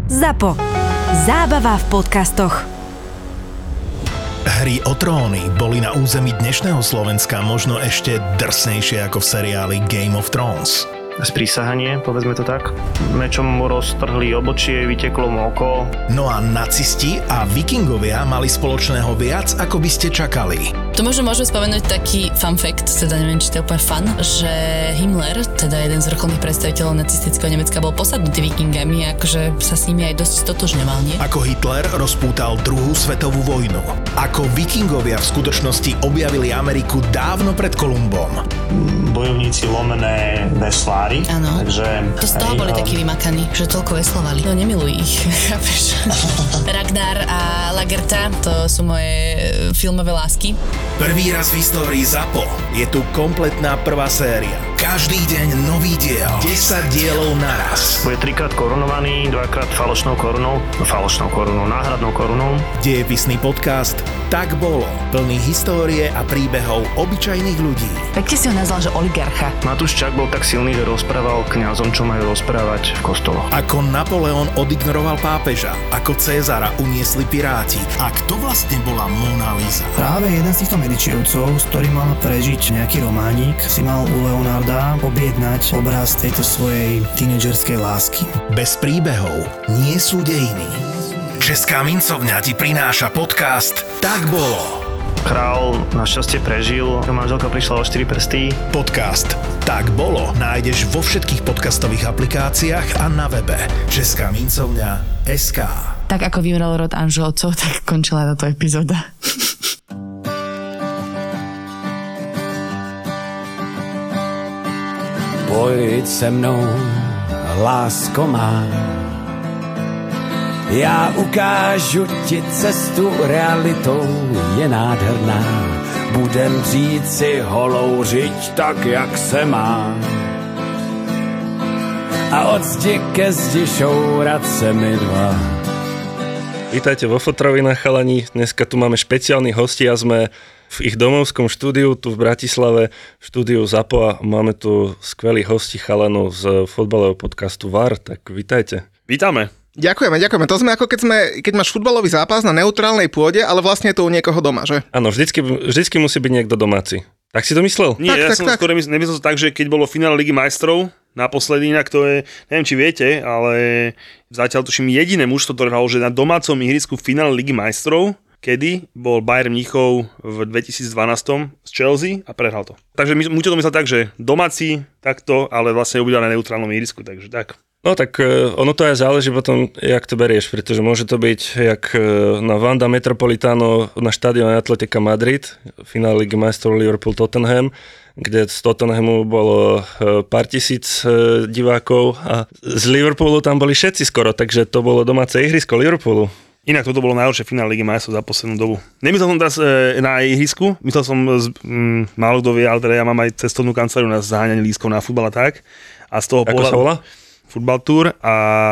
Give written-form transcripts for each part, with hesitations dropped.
ZAPO. Zábava v podcastoch. Hry o tróny boli na území dnešného Slovenska možno ešte drsnejšie ako v seriáli Game of Thrones. Sprísahanie, povedzme to tak. Mečom mu roztrhli obočie, vyteklo mu oko. No a nacisti a vikingovia mali spoločného viac, ako by ste čakali. To možno môžeme spomenúť taký fun fact, teda neviem, či to je úplne fun, že Himmler, teda jeden z vrcholných predstaviteľov nacistického Nemecka, bol posadnutý vikingami a akože sa s nimi aj dosť stotožňoval, nie? Ako Hitler rozpútal druhú svetovú vojnu. Ako vikingovia v skutočnosti objavili Ameriku dávno pred Kolumbom. Bojovníci lomené veslári. Áno. Takže to z toho boli takí vymakaní, že toľko veslovali. No nemiluj ich, chápeš? Ragnar a Lagertha, to sú moje filmové lásky. Prvý raz v histórii ZAPO je tu kompletná prvá séria. Každý deň nový diel. 10 dielov naraz. bude 3-krát korunovaný, 2-krát falošnou korunou, náhradnou korunou. Dejepisný podcast Tak bolo. Plný histórie a príbehov obyčajných ľudí. Pekne si ho nazval, že oligarcha. Matúš Čak bol tak silný, že rozprával kňazom, čo majú rozprávať v kostoloch. Ako Napoleon odignoroval pápeža, ako Cézara uniesli piráti a kto vlastne bola Mona Lisa. Práve jeden z týchto Medičievcov, s ktorým mal prežiť nejaký románik, si mal u Leonarda objednať obraz tejto svojej tínedžerskej lásky. Bez príbehov nie sú dejiny. Česká mincovňa ti prináša podcast Tak bolo. Král našťastie prežil, manželka prišla o 4 prsty. Podcast Tak bolo nájdeš vo všetkých podcastových aplikáciách a na webe Česká mincovňa.sk. Tak ako vymrel rod Anželovcov, tak končila táto epizóda. Pojď se mnou, lásko má. Já ukážu ti cestu, realitou je nádherná. Budem žít si holou žiť tak, jak se má. A od zdi ke zdi šourat se mi dva. Vítajte vo Fotrovinách, chalani. Dneska tu máme špeciálnych hostí a sme v ich domovskom štúdiu tu v Bratislave, v štúdiu ZAPO a máme tu skvelých hostí chalanov z fotbalového podcastu VAR, tak vítajte. Vítame. Ďakujeme. To sme ako keď máš futbalový zápas na neutrálnej pôde, ale vlastne je to u niekoho doma, že? Áno, vždycky musí byť niekto domáci. Tak si to myslel? Nie, ja som skôr nemyslel to tak, že keď bolo finále Ligy majstrov, naposledy, inak to je, neviem či viete, ale zatiaľ tuším jediné mužstvo, ktoré hralo, že na domácom ihrisku v finále Ligy majstrov, kedy bol Bayern Mníchov v 2012 z Chelsea a prehral to. Takže mu to myslel tak, že domáci takto, ale vlastne obidva na neutrálnom ihrisku, takže tak. No tak ono to aj záleží potom, jak to berieš, pretože môže to byť jak na Wanda Metropolitano na štadióne Atletica Madrid, finále Ligy majstrov Liverpool-Tottenham, kde z Tottenhamu bolo pár tisíc divákov a z Liverpoolu tam boli všetci skoro, takže to bolo domáce ihrisko Liverpoolu. Inak toto bolo najhoršie finále Ligy majstrov za poslednú dobu. Nemyslel som teraz na ihrisku, myslel som, málo kto vie, ale teda ja mám aj cestovnú kanceláriu na zaháňanie lístkov na futbal a tak. A z toho Ako sa volá? Football Tour a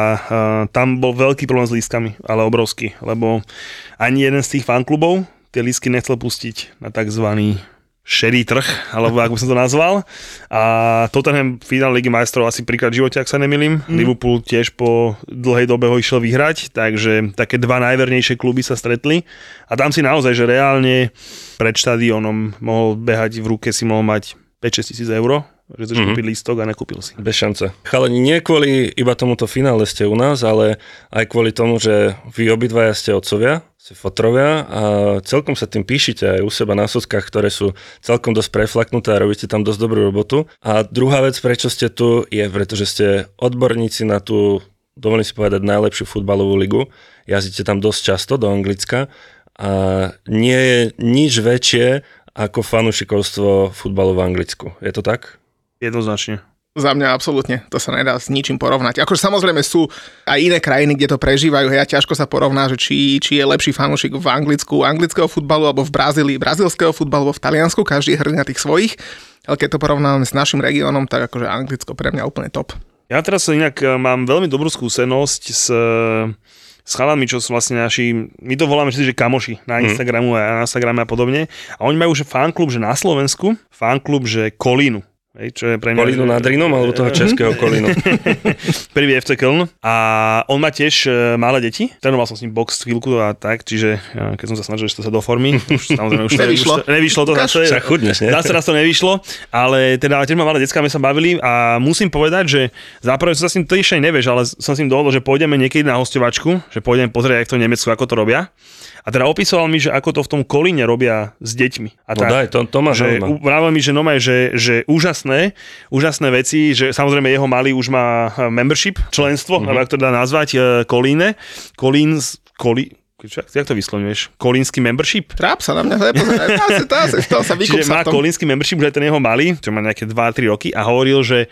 tam bol veľký problém s lístkami, ale obrovský, lebo ani jeden z tých fanklubov tie lístky nechcel pustiť na takzvaný šedý trh, alebo ako by som to nazval. A Tottenham finále Ligy majstrov asi príklad v živote, ak sa nemýlim. Liverpool tiež po dlhej dobe ho išiel vyhrať, takže také dva najvernejšie kluby sa stretli. A tam si naozaj, že reálne pred štadiónom mohol behať v ruke, si mohol mať 5-6 tisíc eur, že chceš kúpiť lístok a nekúpil si. Bez šance. Chalani, nie kvôli iba tomuto finále ste u nás, ale aj kvôli tomu, že vy obidvaja ste otcovia, ste fotrovia a celkom sa tým píšite aj u seba na sockách, ktoré sú celkom dosť preflaknuté a robíte tam dosť dobrú robotu. A druhá vec, prečo ste tu, je pretože ste odborníci na tú, dovolím si povedať, najlepšiu futbalovú ligu. Jazdíte tam dosť často do Anglicka a nie je nič väčšie ako fanúšikovstvo futbalu v Anglicku. Je to tak? Jednoznačne. Za mňa absolútne, to sa nedá s ničím porovnať. Akože samozrejme sú aj iné krajiny, kde to prežívajú, hej, a ťažko sa porovná, že či je lepší fanúšik v Anglicku anglického futbalu, alebo v Brazílii brazílskeho futbalu, alebo v Taliansku, každý je hrdý na tých svojich, ale keď to porovnáme s našim regiónom, tak akože Anglicko pre mňa úplne top. Ja teraz inak mám veľmi dobrú skúsenosť s chalami, čo sú vlastne naši, my to voláme že kamoši na Instagrame a podobne. A oni majú že fanklub, že na Slovensku, fanklub, že Kolínu. čo je pre mňa... Kolínu nad Rýnom alebo toho českého Kolínu? Prvý FC Köln. A on má tiež malé deti. Trénoval som s ním box chvíľku a tak, čiže keď som sa snažil, že to sa do formy, samozrejme už nevyšlo to zase. Však chudneš, nie? Zase raz to nevyšlo, ale teda tiež má malé decká, my sa bavili a musím povedať, že záprve som sa s ním, to ešte nevieš, ale som s ním dohodol, že pôjdeme niekedy na hosťovačku, že pôjdeme pozrieť, jak to v Nemecku, ako to robia. A teda opísoval mi, že ako to v tom Kolíne robia s deťmi. A no daj, to ma zaujíma. Vravel mi, že že úžasné veci, že samozrejme jeho malý už má membership, členstvo, alebo ak to dá nazvať, Kolíne. Jak to vyslovňuješ? Kolínsky membership? Tráp sa na mňa, to sa vykúpsa. Čiže má kolínsky membership, už aj ten jeho malý, čo má nejaké 2-3 roky a hovoril, že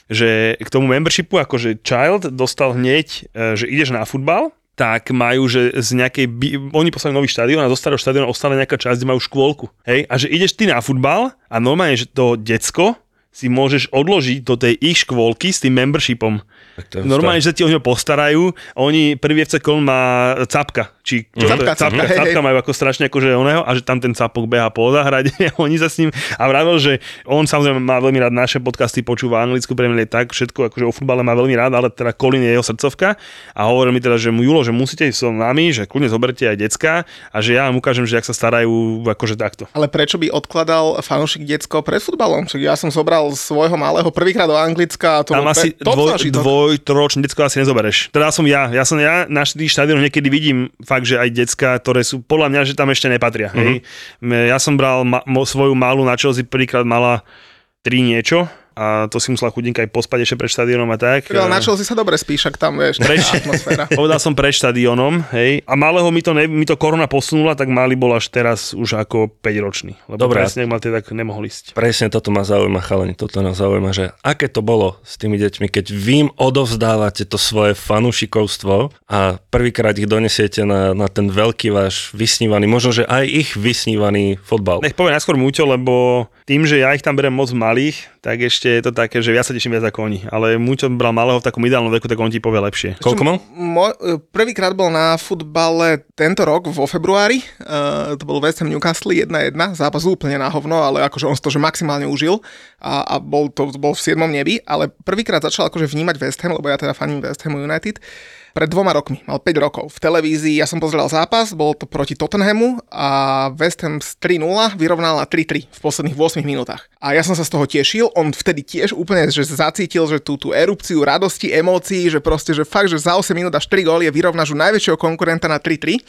k tomu membershipu, akože child, dostal hneď, že ideš na futbal, tak majú, že z nejakej... Oni poslali nový štadión a zo starého štadióna ostala nejaká časť, kde majú škôlku. Hej? A že ideš ty na futbal a normálne, že to decko si môžeš odložiť do tej ich škôlky s tým membershipom. Normálne, že sa ti o neho postarajú. Oni, prvý FC Köln má capka. Capka majú ako strašne akože oného a že tam ten capok beha po záhrade. Oni sa s ním a vravel, že on samozrejme má veľmi rád naše podcasty, počúva anglicky, pre mňa tak všetko, akože o futbale má veľmi rád, ale teda Kolín je jeho srdcovka a hovoril mi teda, že mu Julo, že musíte ísť so nami, že kľudne zoberte aj decka a že ja mu ukážem, že jak sa starajú akože takto. Ale prečo by odkladal fanúšik decko pred futbalom? Čiže ja som zobral svojho malého prvýkrát do Anglicka a to tam asi dvoj-trojročné decko asi nezobereš. Teda som ja na tých štadiónoch niekedy vidím fakt, že aj decka, ktoré sú podľa mňa, že tam ešte nepatria. Hej. Ja som bral svoju malú na Chelsea, prvýkrát mala 3 niečo a to si musela chudinka aj pospať ešte pred štadiónom a tak. Ale na Chelsea sa dobre spíš, ak tam vieš, atmosféra. Povedal som pred štadiónom, hej. A malého mi to korona posunula, tak malý bol až teraz už ako 5-ročný. Lebo dobre, presne, ak mal tak nemohol ísť. Presne toto ma zaujíma, chalani, toto nás zaujíma, že aké to bolo s tými deťmi, keď vy im odovzdávate to svoje fanúšikovstvo a prvýkrát ich donesiete na ten veľký váš vysnívaný, možno, že aj ich vysnívaný fotbal. Nech poviem najskôr Muťo, lebo tým, že ja ich tam berem moc malých, tak ešte je to také, že ja sa teším viac ako oni. Ale Muťo bral malého v takom ideálnom veku, tak on ti povie lepšie. Koľko mal? Prvýkrát bol na futbale tento rok vo februári. To bol West Ham Newcastle 1-1. Zápas úplne na hovno, ale akože on to že maximálne užil a bol v 7. nebi. Ale prvýkrát začal akože vnímať West Ham, lebo ja teda faním West Ham United. Pred 2 rokmi, mal 5 rokov. V televízii ja som pozeral zápas, bol to proti Tottenhamu a West Ham z 3-0 vyrovnal na 3-3 v posledných 8 minútach. A ja som sa z toho tešil, on vtedy tiež úplne že zacítil, že tú erupciu radosti, emócií, že proste, že fakt, že za 8 minút až 3 góly vyrovnáš u najväčšieho konkurenta na 3-3.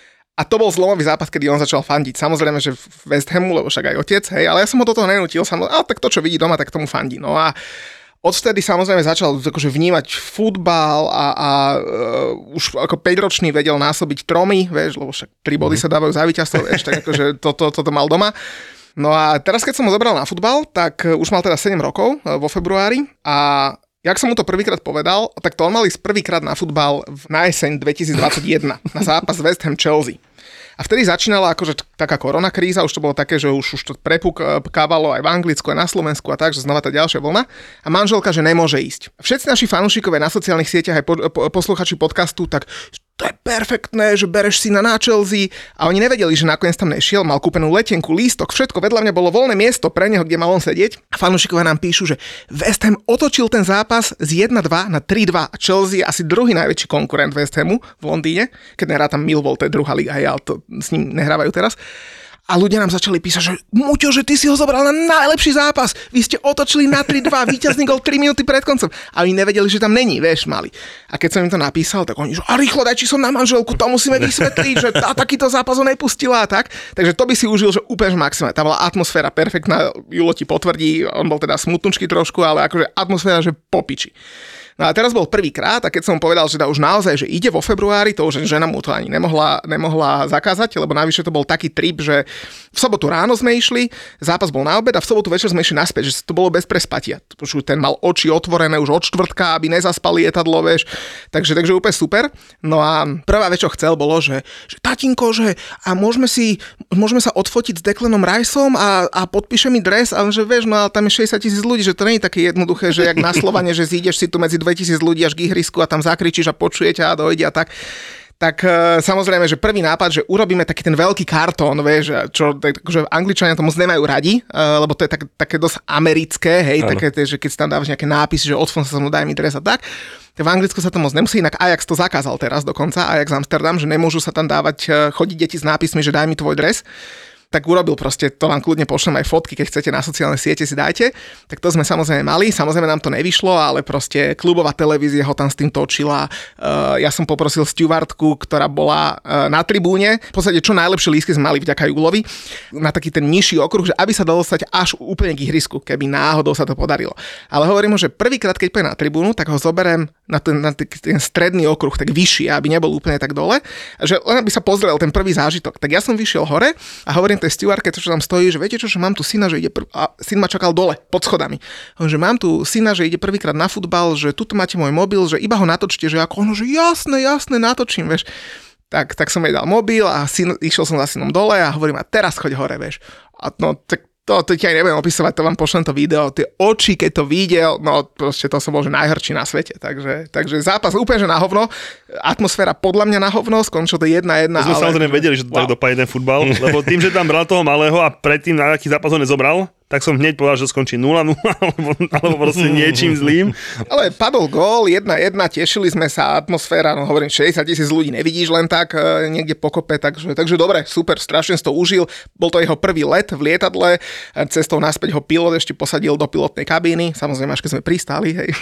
A to bol zlomový zápas, kedy on začal fandiť. Samozrejme, že v West Hamu, lebo však aj otec, hej, ale ja som ho do toho nenútil, tak to, čo vidí doma, tak tomu fandí. No a odvtedy samozrejme začal akože vnímať futbal a už ako 5-ročný vedel násobiť 3, vieš, lebo však 3 body sa dávajú za víťazstvo, vieš, tak akože toto mal doma. No a teraz, keď som ho zobral na futbal, tak už mal teda 7 rokov vo februári a jak som mu to prvýkrát povedal, tak to on mal ísť prvýkrát na futbal na jeseň 2021, na zápas West Ham Chelsea. A vtedy začínala akože taká koronakríza, už to bolo také, že už to prepukávalo aj v Anglicku, aj na Slovensku a tak, že znova tá ďalšia vlna. A manželka, že nemôže ísť. Všetci naši fanúšikovia na sociálnych sieťach aj posluchači podcastu, tak to je perfektné, že bereš si na Chelsea a oni nevedeli, že nakoniec tam nešiel, mal kúpenú letenku, lístok, všetko, vedľa mňa bolo voľné miesto pre neho, kde mal on sedieť. A fanúšikovia nám píšu, že West Ham otočil ten zápas z 1-2 na 3-2 a Chelsea je asi druhý najväčší konkurent West Hamu v Londýne, keď nerátam Millwall, to je druhá liga, ale to s ním nehrávajú teraz. A ľudia nám začali písať, že Muťo, že ty si ho zobral na najlepší zápas. Vy ste otočili na 3-2, víťazný gol 3 minúty pred koncom. A oni nevedeli, že tam není, vieš, mali. A keď som im to napísal, tak oni, že a rýchlo daj, či som na manželku, to musíme vysvetliť, že takýto zápas ho nepustila a tak. Takže to by si užil, že úplne maximálne. Tá bola atmosféra perfektná, Julo ti potvrdí, on bol teda smutnučky trošku, ale akože atmosféra, že popiči. No a teraz bol prvýkrát a keď som povedal, že už naozaj, že ide vo februári, to už žena mu to ani nemohla zakázať, lebo navyše to bol taký trip, že v sobotu ráno sme išli, zápas bol na obed a v sobotu večer sme išli naspäť, že to bolo bez prespatia. Už ten mal oči otvorené už od štvrtka, aby nezaspal lietadlo, vieš. Takže úplne super. No a prvá vec, čo chcel, bolo, že tatinko, že a môžeme sa odfotiť s Declanom Riceom a podpíše mi dres, ale že vieš, no ale tam je 60,000 ľudí, že to nie je také jednoduché, že jak na Slovane, že zídeš si tu medzi 2000 ľudí až k ihrisku a tam zakričíš a počujete a dojde a tak. tak samozrejme, že prvý nápad, že urobíme taký ten veľký kartón, vieš, čo že Angličania to moc nemajú radi, lebo to je také dosť americké, hej, také, že keď si tam dávaš nejaké nápisy, že odfon sa mnou daj mi dres a tak. V Anglicku sa to moc nemusí, inak Ajax to zakázal teraz dokonca, Ajax Amsterdam, že nemôžu sa tam dávať, chodiť deti s nápismi, že daj mi tvoj dres. Tak urobil proste, to vám kľudne pošlem aj fotky, keď chcete na sociálne siete si dajte. Tak to sme samozrejme mali, samozrejme nám to nevyšlo, ale proste klubová televízia ho tam s tým točila. Ja som poprosil stewardku, ktorá bola na tribúne. V podstate čo najlepšie lístky sme mali vďaka Julovi na taký ten nižší okruh, že aby sa dalo stať až úplne k ihrisku, keby náhodou sa to podarilo. Ale hovorím mu, že prvýkrát, keď pôjde na tribúnu, tak ho zoberiem na ten stredný okruh, tak vyšší, aby nebol úplne tak dole, že len aby sa pozrel ten prvý zážitok. Tak ja som vyšiel hore a hovorím tej stewardke, čo tam stojí, že viete čo, že mám tu syna, že ide a syn ma čakal dole, pod schodami. Že mám tu syna, že ide prvýkrát na futbal, že tuto máte môj mobil, že iba ho natočte, že ako ono, že jasné, natočím, vieš. Tak som jej dal mobil a išiel som za synom dole a hovorím, a teraz choď hore, vieš. A no, tak to ti aj nebudem opisovať, to vám pošlem to video, tie oči, keď to videl, no proste to som bol, že najhrčí na svete, takže zápas úplne, že na hovno, atmosféra podľa mňa na hovno, skončilo to 1-1. My sme samozrejme vedeli, že to tak dopadne ten futbal, lebo tým, že tam bral toho malého a predtým na aký zápas ho nezobral, tak som hneď povedal, že skončí 0-0 alebo proste niečím zlým. Ale padol gól, 1-1, tešili sme sa, atmosféra, no hovorím, 60,000 ľudí nevidíš len tak niekde pokope, takže dobre, super, strašne si to užil. Bol to jeho prvý let v lietadle, cestou naspäť ho pilot ešte posadil do pilotnej kabíny, samozrejme až keď sme pristáli, hej.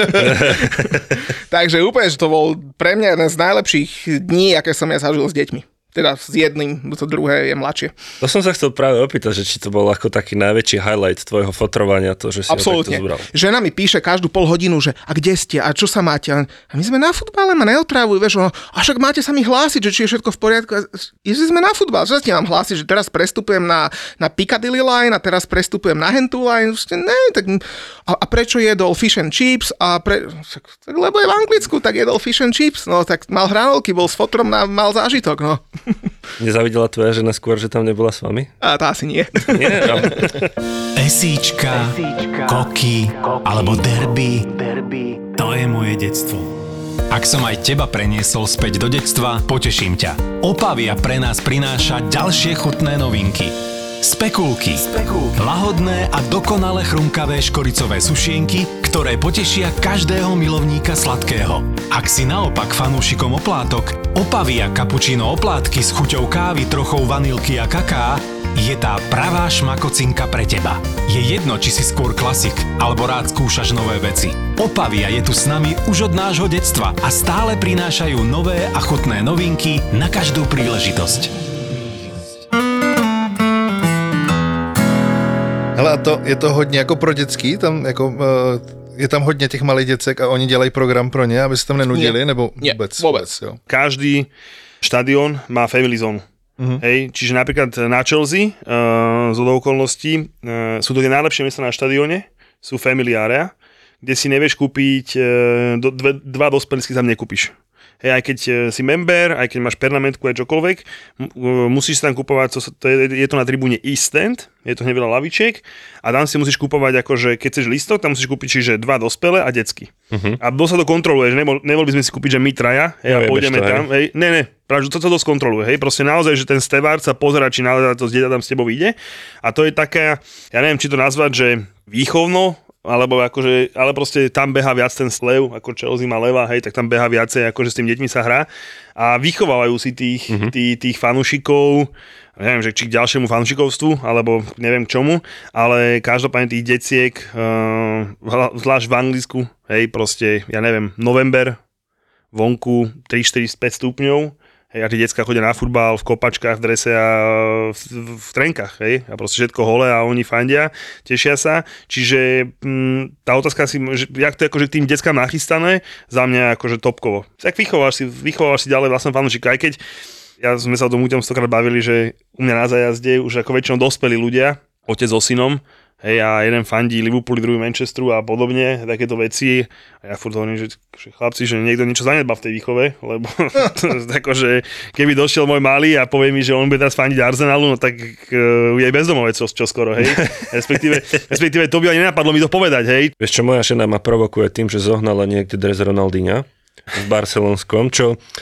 Takže úplne, že to bol pre mňa jeden z najlepších dní, aké som ja zažil s deťmi. Teda s jedným, to druhé je mladšie. To som sa chcel práve opýtať, že či to bol ako taký najväčší highlight tvojho fotrovania, to, že si absolútne. Ho takto zobral. Žena mi píše každú pol hodinu, že a kde ste, a čo sa máte? A my sme na futbale, ma neotrávuj, vieš, a však máte sa mi hlásiť, že či je všetko v poriadku. Ježi, sme na futbal, čo sa ti mám hlásiť, že teraz prestupujem na Piccadilly line a teraz prestupujem na Hentu line. Ne, tak a prečo jedol fish and chips? Lebo je v Anglicku, tak jedol fish and chips. No tak mal hranolky, bol s fotrom, mal zážitok, no. Nezavidela tvoja žena skôr, že tam nebola s vami? A to asi nie. Nie, no. Esíčka, koky alebo derby, to je moje detstvo. Ak som aj teba preniesol späť do detstva, poteším ťa. Opavia pre nás prináša ďalšie chutné novinky. Spekulky. Lahodné a dokonale chrumkavé škoricové sušienky, ktoré potešia každého milovníka sladkého. Ak si naopak fanúšikom oplátok, Opavia cappuccino oplátky s chuťou kávy, trochou vanilky a kaká je tá pravá šmakocinka pre teba. Je jedno, či si skôr klasik, alebo rád skúšaš nové veci. Opavia je tu s nami už od nášho detstva a stále prinášajú nové a chutné novinky na každú príležitosť. Hele, a to je to hodně jako pro dětský, tam jako... Je tam hodně těch malých děcek a oni dělají program pro ně, aby se tam nenudili, nie, nebo nie, vôbec. Jo. Každý štadión má family zone. Hej, čiže napríklad na Chelsea z okolností sú to tie najlepšie miesta na štadióne, sú family area, kde si nevieš kúpiť, dva dospelícky tam nekúpiš. Hej, aj keď si member, aj keď máš permanentku, aj čokoľvek, musíš sa tam kúpovať, je to na tribúne East Stand, je to hneď veľa lavičiek a tam si musíš kúpovať, akože keď chceš listok, tam musíš kúpiť čiže dva dospelé a detsky. A dosť sa to kontroluje, že nebol by sme si kúpiť, že my traja, hej, a pôjdeme tam, hej, ne, práve, že to dosť kontroluje, hej, proste naozaj, že ten stevár sa pozerá, či naozaj to dieťa tam s tebou ide a to je taká, ja neviem, či to nazvať, že výchovno, alebo akože, ale proste tam beha viac ten slev, ako Chelsea má leva, hej, tak tam beha viacej, akože s tým deťmi sa hrá a vychovávajú si tých fanúšikov, neviem, že či k ďalšiemu fanúšikovstvu, alebo neviem k čomu, ale každopádne tých deciek, zvlášť v Anglicku, hej, proste, ja neviem, november, vonku 3, 4, 5 stupňov, hej, a tí decká chodia na futbal v kopačkách, v drese a v trenkách, hej, a proste všetko hole a oni fandia, tešia sa, čiže tá otázka si, že, jak to je akože tým deckám nachystané, za mňa akože topkovo. Tak vychováš si ďalej vlastne fanúšika, aj keď sme sa o tom stokrát bavili, že u mňa na zájazde už ako väčšinou dospelí ľudia, otec so synom, hej, a jeden fandí Liverpoolu, druhý Manchesteru a podobne, takéto veci. A ja furt hovorím, že chlapci, že niekto niečo zanedbal v tej výchove, lebo akože keby došiel môj malý a povie mi, že on bude teraz fandiť Arsenalu, no tak je aj bezdomovec čo skoro, hej. Respektíve to by ani nenapadlo mi to povedať, hej. Vieš čo, moja žena ma provokuje tým, že zohnala niekde dres Ronaldinha v barcelonskom, čo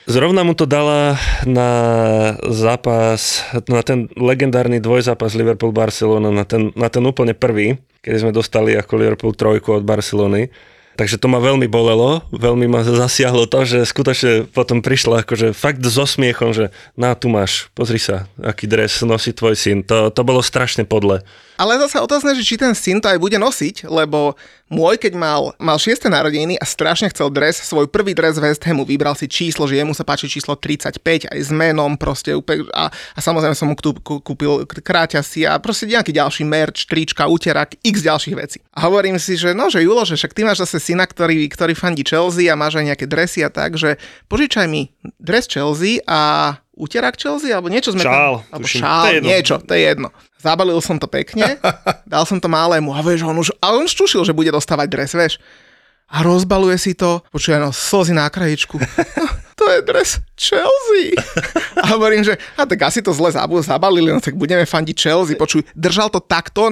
Zrovna mu to dala na zápas, na ten legendárny dvojzápas Liverpool-Barcelona, na ten úplne prvý, keď sme dostali ako Liverpool 3 od Barcelony. Takže to ma veľmi bolelo, veľmi ma zasiahlo to, že skutočne potom prišla akože fakt so smiechom, že tu máš, pozri sa, aký dres nosí tvoj syn. To bolo strašne podle. Ale zase otázne, že či ten syn to aj bude nosiť, lebo môj, keď mal 6. narodeniny a strašne chcel dres, svoj prvý dres West Hamu, vybral si číslo, že jemu sa páči číslo 35, aj s menom proste úplne, a samozrejme som mu kúpil kráťasy a proste nejaký ďalší merch, trička, úterak, x ďalších vecí. A hovorím si, že no, že Julo, že však ty máš zase syna, ktorý fandí Chelsea a máš aj nejaké dresy a tak, že požičaj mi dres Chelsea a úterak Chelsea, alebo niečo sme šál, tam... Šál, niečo, to je jedno. Zabalil som to pekne, dal som to malému a vieš, on už tušil, že bude dostávať dres, vieš. A rozbaluje si to, počuje, slzy na krajičku. To je dres Chelsea. A hovorím, že tak asi to zle zabalili, no tak budeme fandiť Chelsea. Počuj, držal to takto,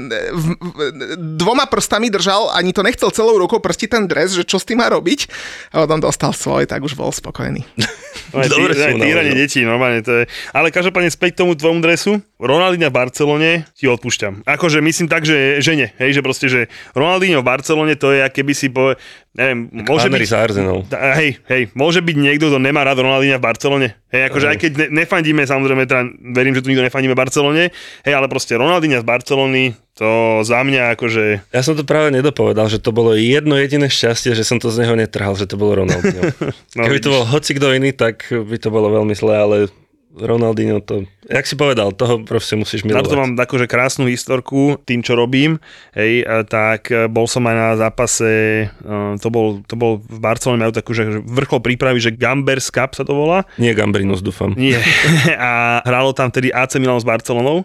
dvoma prstami držal, ani to nechcel celou rukou prstiť ten dres, že čo s tým má robiť. A potom dostal svoj, tak už bol spokojný. Dobre, týranie detí, normálne to je. Ale každopádne späť k tomu tvojmu dresu. Ronaldinho v Barcelone ti odpúšťam. Akože myslím tak, že nie. Hej, že proste, že Ronaldinho v Barcelone to je, keby si neviem, môže byť... Hej, môže byť niekto, kto nemá rád Ronaldinha v Barcelone. Hej, akože aj keď nefandíme, samozrejme, teda verím, že tu nikto nefandíme v Barcelone, hej, ale proste Ronaldinho z Barcelony, to za mňa akože... Ja som to práve nedopovedal, že to bolo jedno jediné šťastie, že som to z neho netrhal, že to bolo Ronaldinho. Keby to bol hoci kto iný, tak by to bolo veľmi zlé, ale Ronaldinho to, jak si povedal, toho proste musíš milovať. Na to mám akože krásnu historku tým, čo robím. Hej, tak bol som aj na zápase, to bol v Barcelone, majú takú, že vrchol prípravy, že Gambers Cup sa to volá. Nie Gambrinus, dúfam. Nie. A hralo tam tedy AC Milan s Barcelonou.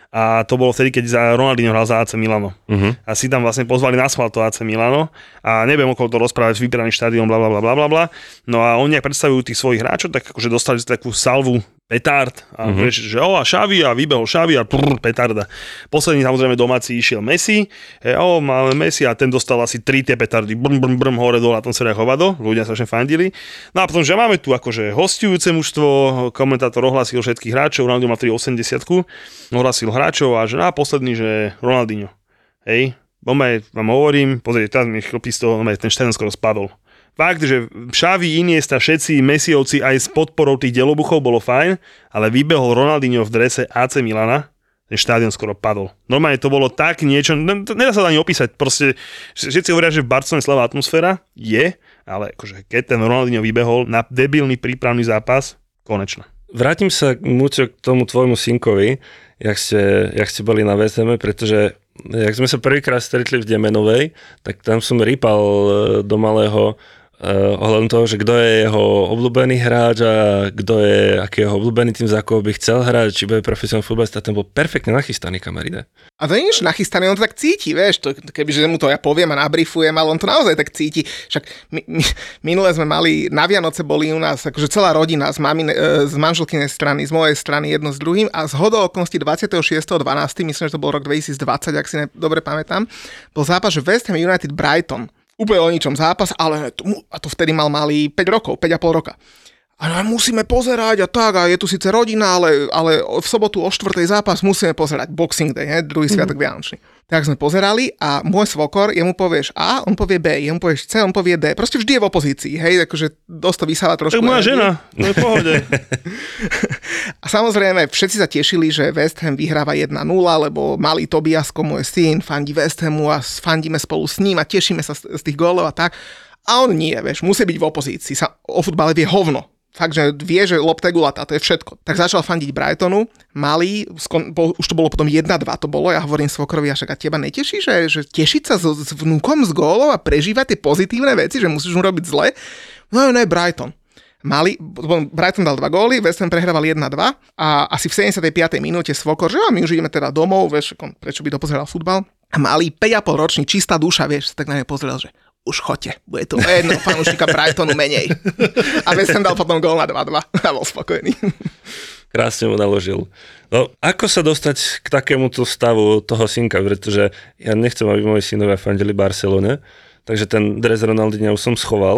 A to bolo vtedy, keď Ronaldinho hral za AC Milano. Uh-huh. A si tam vlastne pozvali na schvál to AC Milano a neviem okolo to rozprávať, vybraný štádion, blablabla. No a oni, ak predstavujú tých svojich hráčov, tak akože dostali takú salvu petard a vieš, že a Xavi a vybehol Xavi a petarda. Posledný samozrejme domáci išiel Messi, máme Messi a ten dostal asi 3 tie petardy, brm, hore dole, a tom sa hovado, ľudia sa všetko fandili. No a potom, že máme tu akože hosťujúce mužstvo, komentátor ohlásil všetkých hráčov, Ronaldinho má 380, ohlásil hráčov a že posledný, že Ronaldinho. Hej, vám hovorím, pozrite, tam mi chlpí z toho, ten štadión skoro spadol. Fakt, že Xavi, Iniesta, všetci Messiovci aj s podporou tých delobuchov bolo fajn, ale vybehol Ronaldinho v drese AC Milana, ten štádion skoro padol. Normálne to bolo tak niečo, nedá sa to ani opísať, proste všetci hovoria, že v Barcelone slabá atmosféra je, ale akože keď ten Ronaldinho vybehol na debilný prípravný zápas, konečne. Vrátim sa Muťo k tomu tvojmu synkovi, jak ste boli na VSM, pretože jak sme sa prvýkrát stretli v Demenovej, tak tam som rýpal do malého ohľadom toho, že kto je jeho obľúbený hráč a aký je jeho obľúbený tým, za koho by chcel hrať, či bude profesionálny futbalista, ten bol perfektne nachystaný, kamaride. A to nie je nachystaný, on to tak cíti, vieš, kebyže mu to ja poviem a nabrifujem, ale on to naozaj tak cíti. Však minule sme mali, na Vianoce boli u nás akože celá rodina z manželkynej strany, z mojej strany jedno s druhým a zhodou okolností 26.12., myslím, že to bol rok 2020, ak si dobre pamätám, bol zápas, že West Ham United Brighton. Úplne o ničom zápas, ale a to vtedy mal malý 5 rokov, 5,5 roka. A musíme pozerať a tak, a je tu síce rodina, ale v sobotu o 4. zápas musíme pozerať Boxing Day, druhý sviatok Vianočný. Tak sme pozerali a môj svokor, jemu povieš A, on povie B, jemu povieš C, on povie D. Proste vždy je v opozícii, hej, akože dosť to vysáva trošku. Tak moja žena, to je v pohode. A samozrejme, všetci sa tešili, že West Ham vyhráva 1-0, lebo malý Tobiasko, môj syn, fandí West Hamu a fandíme spolu s ním a tešíme sa z tých gólov a tak. A on nie, vieš, musí byť v opozícii, sa o futbale vie hovno. Fakt, že vie, že lopta je gulatá, to je všetko. Tak začal fandiť Brightonu, malý, už to bolo potom 1-2 to bolo, ja hovorím svokrovi, a však a teba neteší, že tešiť sa s vnúkom z gólov a prežívať tie pozitívne veci, že musíš mu robiť zle? No ne, Brighton. Brighton dal 2 góly, West Ham prehrával 1-2 a asi v 75. minúte svokor, že my už ideme teda domov, vieš, prečo by dopozeral futbal. A malý 5,5 ročný, čistá duša, vieš, tak na mňa pozrel, že už choďte, bude to jedno fanúšika Brightonu menej. A West Ham dal potom gól na 2-2 a bol spokojný. Krásne mu naložil. No, ako sa dostať k takémuto stavu toho synka, pretože ja nechcem, aby moji synovia fandili Barcelone, takže ten dres Ronaldinha už som schoval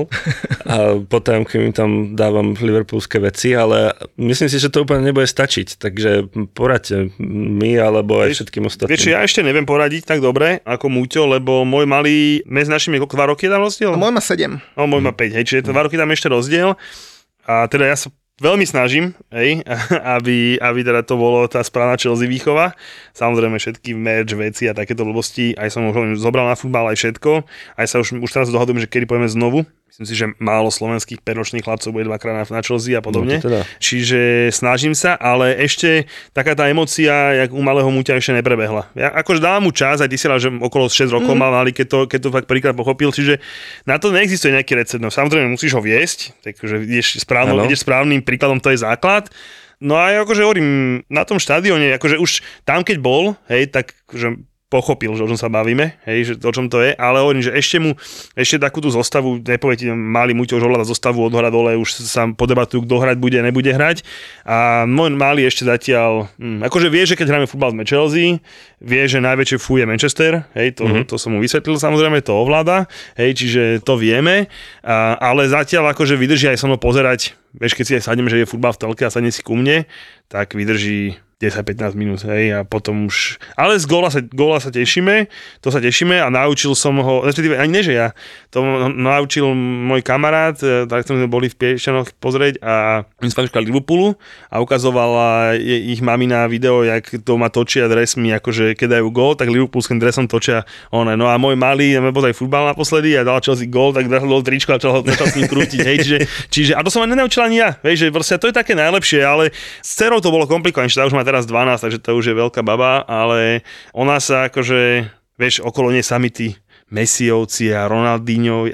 a po tajomke mi tam dávam liverpoolské veci, ale myslím si, že to úplne nebude stačiť, takže poradte mi alebo aj všetkým ostatným. Vieš, ja ešte neviem poradiť tak dobre ako Múťo, lebo môj malý, medzi našimi 2 roky je tam rozdiel? Môj má 7. No, môj má 5, hej, čiže 2 roky tam ešte rozdiel a teda ja sa veľmi snažím, hej, aby teda to bolo tá správna Chelsea výchova. Samozrejme všetky merch, veci a takéto blbosti, aj som už zobral na futbal, aj všetko. Aj sa už teraz dohodujem, že kedy pojeme znovu. Myslím si, že málo slovenských peročných chlapcov bude 2-krát na Chelsea a podobne. No, teda. Čiže snažím sa, ale ešte taká tá emócia, jak u malého Múťa ešte neprebehla. Ja akože dávam mu čas, aj ty si že okolo 6 rokov mal mali, keď to fakt prvýkrát pochopil, čiže na to neexistuje nejaký recept. No, samozrejme musíš ho viesť, takže ideš správnym príkladom, to je základ. No a akože hovorím, na tom štadióne, akože už tam keď bol, hej, tak že pochopil, že o čom sa bavíme, hej, že o čom to je, ale hovorím, že ešte takú tú zostavu, nepoviete, malý Múťo už ovláda zostavu od hora dole, už sa podebatujú, kto hrať bude, nebude hrať a môj malý ešte zatiaľ, akože vie, že keď hráme futbal sme Chelsea, vie, že najväčšie fú je Manchester, hej, to som mu vysvetlil, samozrejme, to ovláda, hej, čiže to vieme, ale zatiaľ akože vydrží aj so mnou pozerať, vieš, keď si aj sadneme, že je futbal v telke a sadne si ku mne, tak vydrží 10-15 minút, hej, a potom už... Ale z góla sa tešíme, to sa tešíme a naučil som ho, respektíve ani nie, že ja, to naučil môj kamarát, tak sme boli v Piešťanoch pozrieť a my sme fanúška Liverpoolu a ukazovala ich mamina video, jak doma točia dresmi, akože keď dajú gól, tak liverpoolským dresom točia one. No a môj malý, ja pozrieť futbal naposledy a dal Chelsea gól, tak dal tričko a začal s ním krútiť, hej, čiže a to som ani nenaučil ani ja, vieš, že proste to je také najlepšie, ale s dcerou to bolo komplikované, už má teraz 12, takže to už je veľká baba, ale ona sa akože, vieš, okolo nej sami tí Messiovci a Ronaldinho,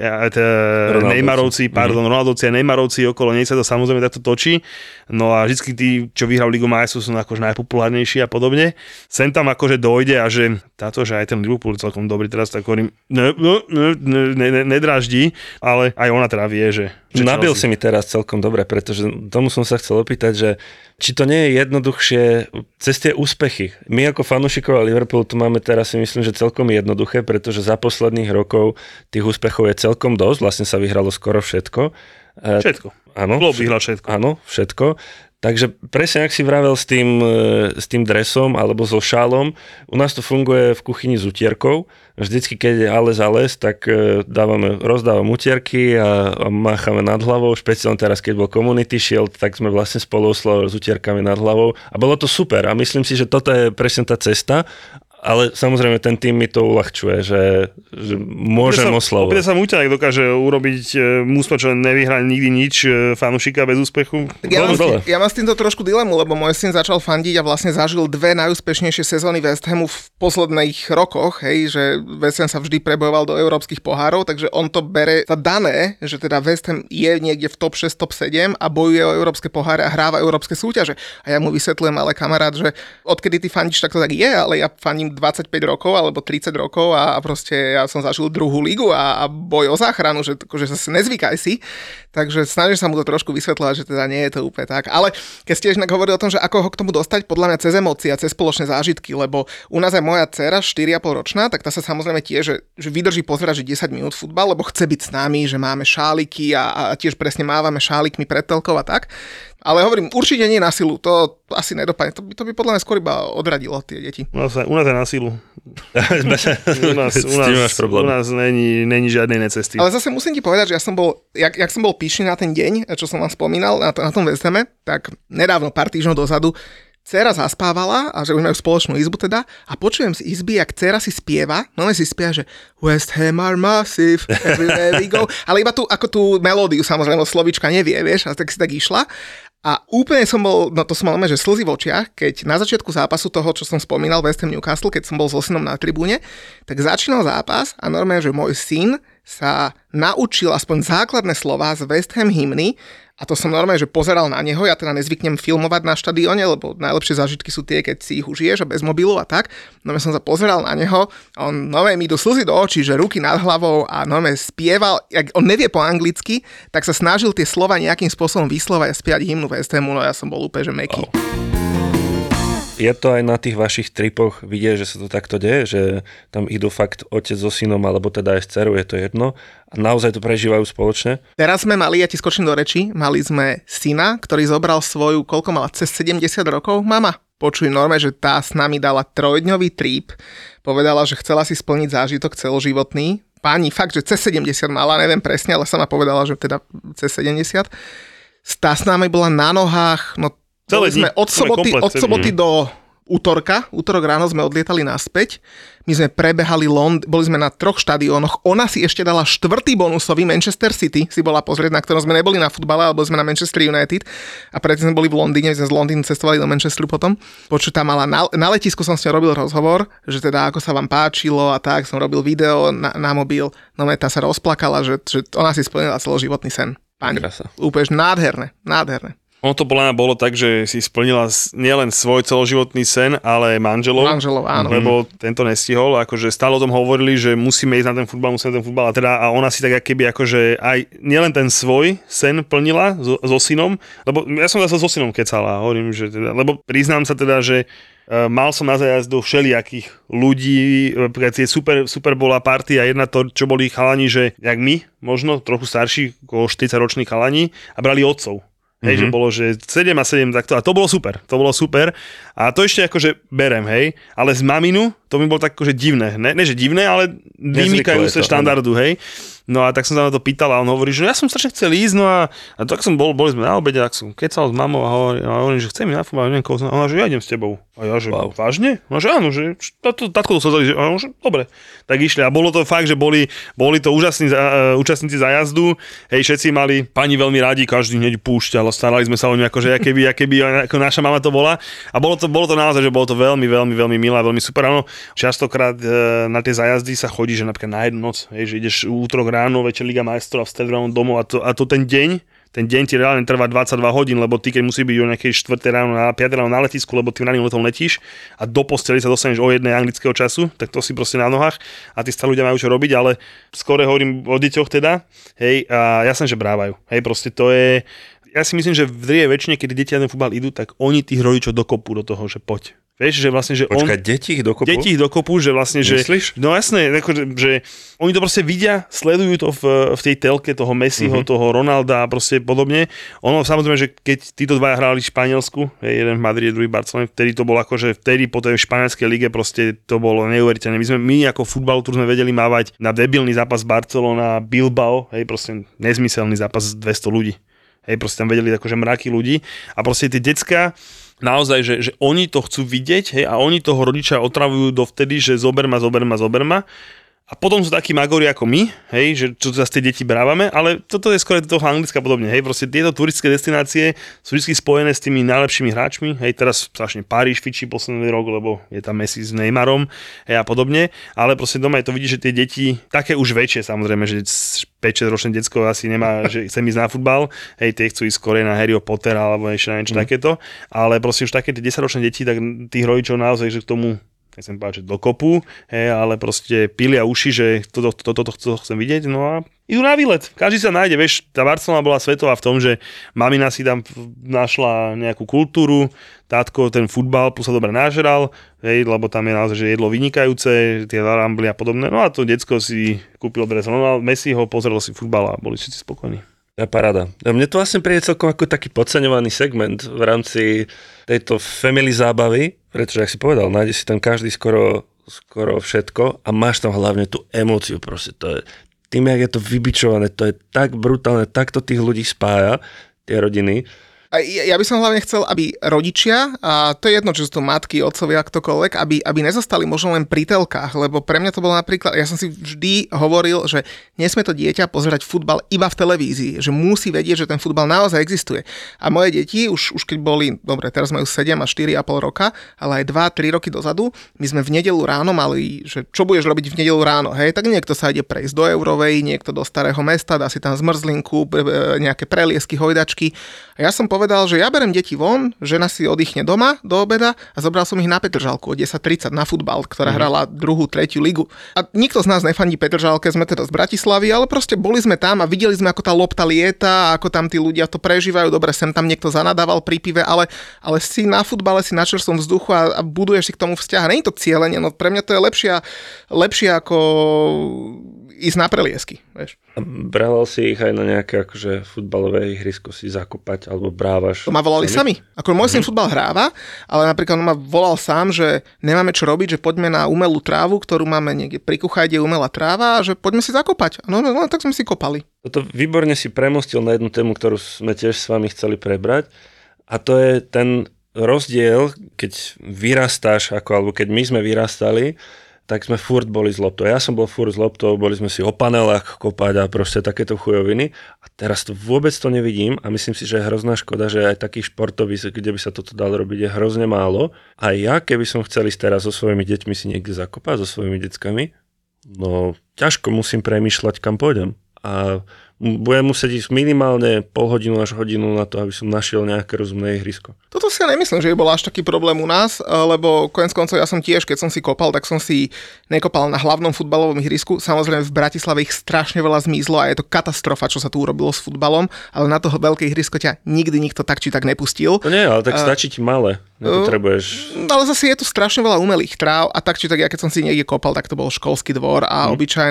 Neymarovci, Ronaldovci a Neymarovci, okolo nej sa to samozrejme takto točí. No a vždycky tí, čo vyhral Ligu majstrov, sú akože najpopulárnejší a podobne. Sem tam akože dojde a že táto, že aj ten Liverpool je celkom dobrý, teraz tak hovorím, nedráždi, ale aj ona teda vie, že nabil si mi teraz celkom dobre, pretože tomu som sa chcel opýtať, že či to nie je jednoduchšie cez tie úspechy. My ako fanúšikovia Liverpoolu to máme teraz si myslím, že celkom jednoduché, pretože za posledných rokov tých úspechov je celkom dosť, vlastne sa vyhralo skoro všetko. Všetko. Áno. Klopp vyhral všetko. Áno, všetko. Takže presne, ak si vravel s tým dresom alebo so šálom, u nás to funguje v kuchyni s utierkou. Vždycky, keď je ale tak rozdávam utierky a máchame nad hlavou. Špeciálne teraz, keď bol Community Shield, tak sme vlastne spolu oslavovali s utierkami nad hlavou. A bolo to super. A myslím si, že toto je presne tá cesta. Ale samozrejme ten tým mi to uľahčuje, že môžem oslavovať. Opäť sa Múťa dokáže urobiť mústvo, čo nevyhrá nikdy nič, fanúšika bez úspechu. Ja mám s týmto trošku dilemu, lebo môj syn začal fandiť a vlastne zažil 2 najúspešnejšie sezóny West Hamu v posledných rokoch, hej, že West Ham sa vždy prebojoval do európskych pohárov, takže on to bere za dané, že teda West Ham je niekde v top 6, top 7 a bojuje o európske poháre a hráva európske súťaže. A ja mu vysvetľujem, ale kamarát, že odkedy ty fandíš, tak to tak je, ale ja fandím 25 rokov alebo 30 rokov a proste ja som zažil 2. ligu a boj o záchranu, že sa nezvykaj si. Takže snažím sa mu to trošku vysvetľovať, že teda nie je to úplne tak. Ale keď ste ešte hovorili o tom, že ako ho k tomu dostať, podľa mňa cez emócie a cez spoločné zážitky, lebo u nás aj moja dcera 4,5 ročná, tak tá sa samozrejme tiež, že vydrží pozerať, že 10 minút futbal, lebo chce byť s nami, že máme šáliky a tiež presne mávame šálikmi pred telkou a tak. Ale hovorím, určite nie na silu, to asi nedopadne. To by podľa mňa skôr iba odradilo tie deti. U nás je na silu. u nás není žiadnej necesty. Ale zase musím ti povedať, že ja som bol, jak som bol pyšný na ten deň, čo som vám spomínal, na tom West Hame, tak nedávno, pár týždňov dozadu, dcera zaspávala, a že už majú spoločnú izbu teda, a počujem z izby, jak dcera si spieva, si spieva, že West Ham are massive, everywhere we go, ale iba ako tú melódiu, samozrejme, slovíčka nevie, vieš, a tak si tak išla. A úplne som bol, to som mal že slzy v očiach, keď na začiatku zápasu toho, čo som spomínal, West Ham Newcastle, keď som bol so synom na tribúne, tak začínal zápas a normálne, že môj syn sa naučil aspoň základné slová z West Ham hymny. A to som normálne, že pozeral na neho, ja teda nezvyknem filmovať na štadióne, lebo najlepšie zážitky sú tie, keď si ich užiješ a bez mobilu a tak. No ja som sa pozeral na neho, on normálne mi idú slzy do očí, že ruky nad hlavou a normálne spieval, jak on nevie po anglicky, tak sa snažil tie slova nejakým spôsobom vyslovať a spievať hymnu West Hamu, no ja som bol úplne, že mäkký. je to aj na tých vašich tripoch vidieť, že sa to takto deje, že tam idú fakt otec so synom, alebo teda aj s dcerou, je to jedno. A naozaj to prežívajú spoločne. Teraz sme mali, ja ti skočím do reči, mali sme syna, ktorý zobral svoju, koľko mala, cez 70 rokov, mama. Počuj, norme, že tá s nami dala 3-dňový trip, povedala, že chcela si splniť zážitok celoživotný. Pani fakt, že cez 70 mala, neviem presne, ale sama povedala, že teda cez 70. Tá s nami bola na nohách, no boli sme od soboty do útorok ráno sme odlietali naspäť. My sme prebehali boli sme na 3 štadiónoch. Ona si ešte dala 4. bonusový Manchester City, si bola pozrieť, na ktorom sme neboli na futbale, ale boli sme na Manchester United a predtým sme boli v Londýne, sme z Londýna cestovali do Manchesteru potom. Počuť, tam mala na letisku som s ňou robil rozhovor, že teda ako sa vám páčilo a tak, som robil video na mobil. No tá sa rozplakala, že ona si splnila celoživotný sen. Pani, úplne nádherné. Ono to bolo tak, že si splnila nielen svoj celoživotný sen, ale manželov, áno. Lebo tento nestihol, akože stále o tom hovorili, že musíme ísť na ten futbal a ona si tak keby akože aj nielen ten svoj sen plnila so synom, lebo ja som zase so synom kecala, hovorím, že teda, lebo priznám sa teda, že mal som na zájazdu všelijakých ľudí, tie super bola partia, jedna to, čo boli chalani, že jak my, možno trochu starší, okolo 40-roční chalani a brali otcov. Hej, že bolo, že 7 a 7 takto. A to bolo super. A to ešte akože berem, hej. Ale z maminu, to mi bolo tak akože divné. Ne že divné, ale vymýkajú sa štandardu, hej. No a tak som sa na to pýtal a on hovorí, že ja som strašne chcel ísť, no a tak som boli sme na obede, tak som kecal s mamou a hovorím, že chcem ísť na futbal, neviem koho, a ona, že ja idem s tebou. A ja, že vážne? No, že áno, že tatko to sa zdali, že dobre. Tak išli a bolo to fakt, že boli to úžasní účastníci zájazdu, hej, všetci mali pani veľmi radi, každý hneď púšťal, starali sme sa o ňu, akože keby ako naša mama to bola. A bolo to naozaj, že bolo to veľmi, veľmi, veľmi milé, veľmi super. Áno, častokrát na tie zájazdy sa chodí, že napríklad na jednu noc, hej, že ideš útorok ráno, večer Liga majstrov a v stredu ráno domov a to ten deň ti reálne trvá 22 hodín, lebo ty keď musí byť o nejakej 4 ráno na 5 ráno na letisku, lebo ty raným letom letíš a do posteli sa dostaneš o 1 anglického času, tak to si proste na nohách a tí starí ľudia majú čo robiť, ale skôr hovorím o deťoch teda, hej, a jasne, že brávajú, hej, proste to je, ja si myslím, že v drvivej väčšine, keď deti na ten futbal idú, tak oni tých rodičov dokopú do toho, že poď. Vieš, že vlastne, že deti ich dokopú? Deti ich dokopú, že vlastne, že... Myslíš? No jasné, že oni to proste vidia, sledujú to v tej telke toho Messiho, toho Ronalda a proste podobne. Ono samozrejme, že keď títo dvaja hrali v Španielsku, jeden v Madride, druhý v Barcelone, vtedy to bolo akože, vtedy po tej španielskej lige proste to bolo neuveriteľné. My ako futbalu sme vedeli mávať na debilný zápas Barcelona, Bilbao, hej, proste nezmyselný zápas 200 ľudí. Hej, proste tam vedeli akože mraky ľudí a proste tie decká naozaj, že oni to chcú vidieť, hej, a oni toho rodiča otravujú dovtedy, že zober ma. A potom sú takí magori ako my, hej, že čo zase tie deti brávame, ale toto je skôr toho Anglicka podobne, hej, proste tieto turistické destinácie sú vždy spojené s tými najlepšími hráčmi, hej, teraz strašne Paríž fičí posledný rok, lebo je tam Messi s Neymarom, hej, a podobne, ale proste doma je to vidí, že tie deti, také už väčšie samozrejme, že 5-6 ročné decko asi nemá, že chce ísť na futbal, hej, tie chcú ísť skôr na Harryho Pottera alebo ešte na niečo takéto, ale proste už také tie 10-ročné deti, tak tých rodičov naozaj, že k tomu nechcem povedať, že do kopu, hej, ale proste pilia uši, že toto chcem vidieť, no a idú na výlet. Každý sa nájde, vieš, tá Barcelona bola svetová v tom, že mamina si tam našla nejakú kultúru, tátko ten futbal plus sa dobre nažral, hej, lebo tam je naozaj, že jedlo vynikajúce, tie larambly a podobné, no a to decko si kúpilo dres Messiho, pozrelo si futbal a boli všetci spokojní. Ja paráda. Mne to vlastne príde celkom ako taký podceňovaný segment v rámci tejto family zábavy, pretože, ak si povedal, nájde si tam každý skoro všetko a máš tam hlavne tú emóciu, proste to je, tým, jak je to vybičované, to je tak brutálne, takto tých ľudí spája, tie rodiny. Ja by som hlavne chcel, aby rodičia, a to je jedno, či sú to matky, otcovia, ktokoľvek, aby nezostali možno len pri telkách, lebo pre mňa to bolo napríklad, ja som si vždy hovoril, že nesmie to dieťa pozerať futbal iba v televízii, že musí vedieť, že ten futbal naozaj existuje. A moje deti, už keď boli, dobre, teraz majú 7 a 4,5 roka, ale aj 2-3 roky dozadu, my sme v nedeľu ráno mali, že čo budeš robiť v nedeľu ráno, hej, tak niekto sa ide prejsť do Eurovej, niekto do Starého mesta, dá si tam zmrzlinku, nejaké preliesky, hojdačky. A ja som povedal, povedal, že ja berem deti von, žena si oddychne doma do obeda a zobral som ich na Petržalku o 10:30 na futbal, ktorá hrala 2., 3. ligu. A nikto z nás nefandí Petržalke, sme teda z Bratislavy, ale proste boli sme tam a videli sme, ako tá lopta lieta, ako tam tí ľudia to prežívajú. Dobre, sem tam niekto zanadával pri pive, ale si na futbale, si na čerstvom vzduchu a buduješ si k tomu vzťah. Není to cielenie, no pre mňa to je lepšie ako ísť na preliesky, vieš. A brával si ich aj na nejaké akože futbalové ihrisko si zakopať, alebo brávaš? To ma volali sami. Ako môj syn futbal hráva, ale napríklad on ma volal sám, že nemáme čo robiť, že poďme na umelú trávu, ktorú máme niekde pri kuchajde, umelá tráva, a že poďme si zakopať. No, tak sme si kopali. Toto výborne si premostil na jednu tému, ktorú sme tiež s vami chceli prebrať, a to je ten rozdiel, keď vyrastáš, alebo keď my sme vyrastali, tak sme furt boli s loptou. Ja som bol furt s loptou, boli sme si o panelách kopať a proste takéto chujoviny. A teraz to vôbec to nevidím a myslím si, že je hrozná škoda, že aj takých športovísk, kde by sa toto dalo robiť, je hrozne málo. A ja, keby som chcel ísť teraz so svojimi deťmi si niekde zakopať, so svojimi deckami, no ťažko musím premýšľať, kam pôjdem. A budem musieť ísť minimálne pol hodinu až hodinu na to, aby som našiel nejaké rozumné ihrisko. Toto si ja nemyslím, že by bol až taký problém u nás, lebo koniec koncov ja som tiež, keď som si kopal, tak som si nekopal na hlavnom futbalovom ihrisku. Samozrejme v Bratislave ich strašne veľa zmizlo a je to katastrofa, čo sa tu urobilo s futbalom, ale na toho veľké ihrisko ťa nikdy nikto tak či tak nepustil. To nie, ale tak stačí ti malé. Nepotrebuješ. Ale zase je tu strašne veľa umelých tráv a tak či tak ja keď som si niekde kopal, tak to bol školský dvor a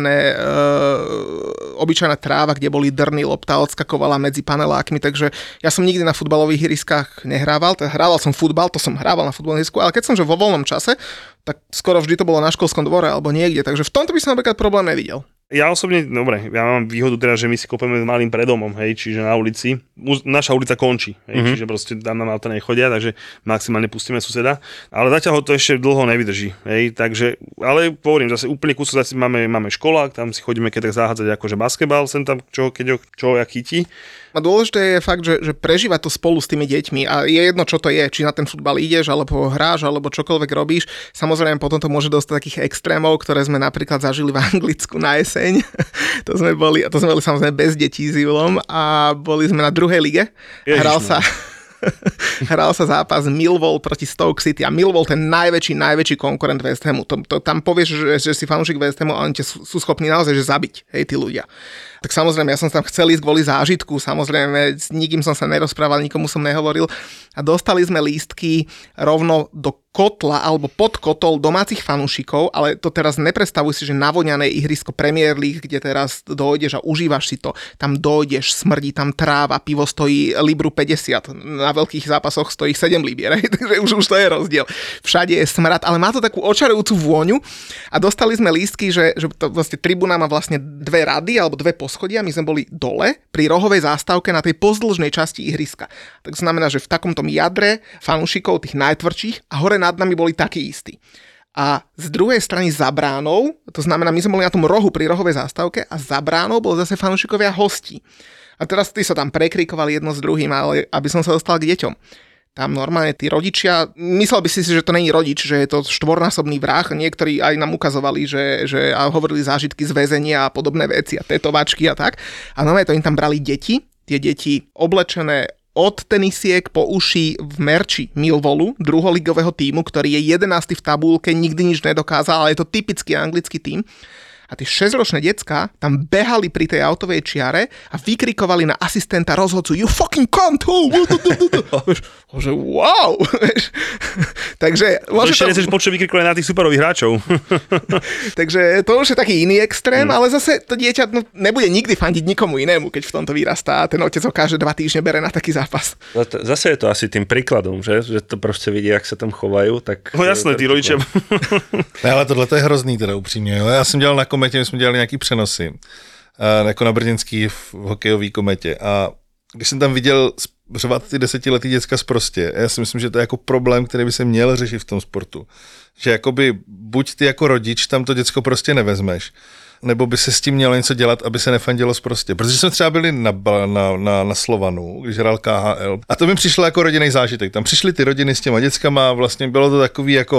obyčajná tráva, kde boli drny, lopta odskakovala medzi panelákmi, takže ja som nikdy na futbalových ihriskách nehrával, hrával som futbal, to som hrával na futbalovom ihrisku, ale keď som že vo voľnom čase, tak skoro vždy to bolo na školskom dvore alebo niekde, takže v tomto by som napríklad problém nevidel. Ja osobne, dobre, ja mám výhodu teda, že my si kopeme s malým predomom, hej, čiže na ulici. Naša ulica končí, hej, čiže proste tam nám auta nechodia, takže maximálne pustíme suseda. Ale zatiaľ ho to ešte dlho nevydrží, hej, takže, ale hovorím, zase úplne kúsok zase máme školák, tam si chodíme keď tak zahádzať akože basketbal, sem tam čo jak chytí. A dôležité je fakt, že prežívať to spolu s tými deťmi a je jedno, čo to je, či na ten futbal ideš, alebo hráš, alebo čokoľvek robíš. Samozrejme potom to môže dostať takých extrémov, ktoré sme napríklad zažili v Anglicku na jeseň. To sme boli samozrejme bez detí s Julom a boli sme na 2. lige. Hral sa zápas Millwall proti Stoke City a Millwall ten najväčší konkurent West Hamu. Tam povieš, že si fanúšik West Hamu a oni sú schopní naozaj že zabiť, hej, tí ľudia. Tak samozrejme, ja som tam chcel ísť kvôli zážitku, samozrejme, s nikým som sa nerozprával, nikomu som nehovoril a dostali sme lístky rovno do kotla alebo pod kotol domácich fanúšikov, ale to teraz nepredstavuj si, že navoňané ihrisko Premier League, kde teraz dojdeš a užívaš si to, tam dojdeš, smrdí tam tráva, pivo stojí libru 50, na veľkých zápasoch stojí 7 libier, takže už to je rozdiel. Všade je smrad, ale má to takú očarujúcu vôňu a dostali sme lístky, že to vlastne tribúna má vlastne 2 rady alebo 2 poschodia, my sme boli dole pri rohovej zástavke na tej pozdĺžnej časti ihriska. Tak znamená, že v takomto jadre fanúšikov, tých najtvrdších a hore nad nami boli takí istí. A z druhej strany za bránou, to znamená, my sme boli na tom rohu pri rohovej zástavke a za bránou boli zase fanúšikovia hostí. A teraz tí sa tam prekrikovali jedno s druhým, ale aby som sa dostal k deťom. Tam normálne tí rodičia, myslel by si, že to není rodič, že je to štvornásobný vrah, niektorí aj nám ukazovali, že a hovorili zážitky z väzenia a podobné veci a tetovačky a tak. A normálne to im tam brali deti, tie deti oblečené od tenisiek po uši v merči Millwallu, druholigového tímu, ktorý je 11. v tabulke, nikdy nič nedokázal, ale je to typický anglický tím. A tie 6-ročné decká tam behali pri tej autovej čiare a vykrikovali na asistenta rozhodcu you fucking cunt! Že wow! Takže ešte nechceš počuť vykrikovali na tých superových hráčov. Takže to už je taký iný extrém, ale zase to dieťa nebude nikdy fandiť nikomu inému, keď v tomto vyrastá a ten otec ho každé 2 týždne bere na taký zápas. Zase je to asi tým príkladom, že to proste vidí, jak sa tam chovajú. Tak no jasné, tí rodičia. Ale tohle to je hrozný teda upřímně. Jo? Já jsem dělal na kometě, my jsme dělali nějaký přenosy, jako na brněnský v hokejový kometě a když jsem tam viděl řvat ty 10letý děcka sprostě, já si myslím, že to je jako problém, který by se měl řešit v tom sportu. Že jakoby buď ty jako rodič tam to děcko prostě nevezmeš, nebo by se s tím mělo něco dělat, aby se nefandilo sprostě. Protože jsme třeba byli na Slovanu, když hrál KHL. A to mi přišlo jako rodinný zážitek. Tam přišly ty rodiny s těma děckama, vlastně bylo to takový jako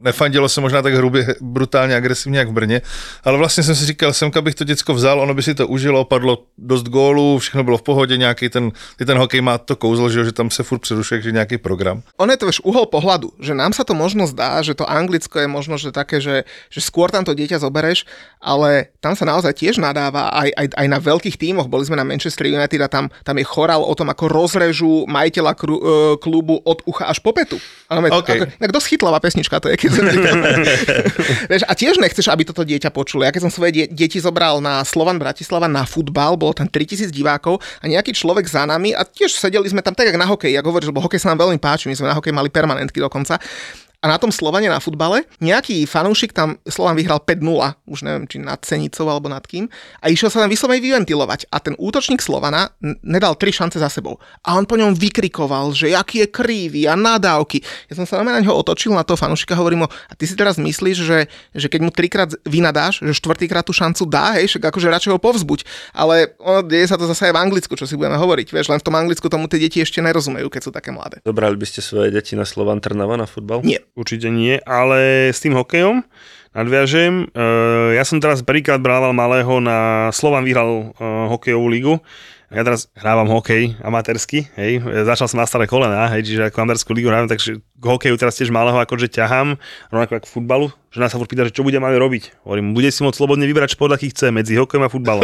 nefandilo se možná tak hrubě, brutálně agresivně jak v Brně, ale vlastně jsem si říkal, semka bych to děcko vzal, ono by si to užilo, padlo dost gólů, všechno bylo v pohodě, nějaký ten hokej má to kouzlo, že tam se furt přerušuje, že nějaký program. On je to už uhol pohľadu, že nám sa to možno zdá, že to Anglicko je možno že také, že skôr tam to dieťa zobereš, ale tam sa naozaj tiež nadáva aj na veľkých tímoch. Boli sme na Manchester United a tam je chorál o tom, ako rozrežú majiteľa klubu od ucha až po petu. Okay. Dosť chytlavá pesnička to je, keď vieš, a tiež nechceš, aby toto dieťa počulo. Ja keď som svoje deti zobral na Slovan Bratislava na futbal, bolo tam 3000 divákov a nejaký človek za nami a tiež sedeli sme tam tak, jak na hokej. Jak hovoríš, lebo hokej sa nám veľmi páči, my sme na hokej mali permanentky dokonca. A na tom Slovane na futbale nejaký fanúšik tam Slovan vyhral 5-0, už neviem, či nad Senicou alebo nad kým, a išiel sa tam vyslovene vyventilovať. A ten útočník Slovana nedal 3 šance za sebou. A on po ňom vykrikoval, že aký je krivý a nadávky. Ja som sa na ňo otočil, na toho fanúšika, hovorím mu, a ty si teraz myslíš, že keď mu 3-krát vynadáš, že 4-krát tú šancu dá, hej, však akože radšej ho povzbuď. Ale deje sa to zase aj v Anglicku, čo si budeme hovoriť. Vieš, len v tom Anglicku tomu tie deti ešte nerozumejú, keď sú také mladé. Dobrali by ste svoje deti na Slovan Trnava na futbal? Nie. Určite nie, ale s tým hokejom nadviažem. Ja som teraz prvýkrát brával malého na Slovan vyhral hokejovú ligu. Ja teraz hrávam hokej amatérsky, hej, začal som na staré kolená, hej, čiže ako amatérskú ligu hrávam, takže k hokeju teraz tiež malého akože ťahám, rovnako ako k futbalu. Žena sa furt pýta, že čo bude máme robiť. Hovorím, bude si môcť slobodne vybrať šport, aký chce, medzi hokejom a futbalom.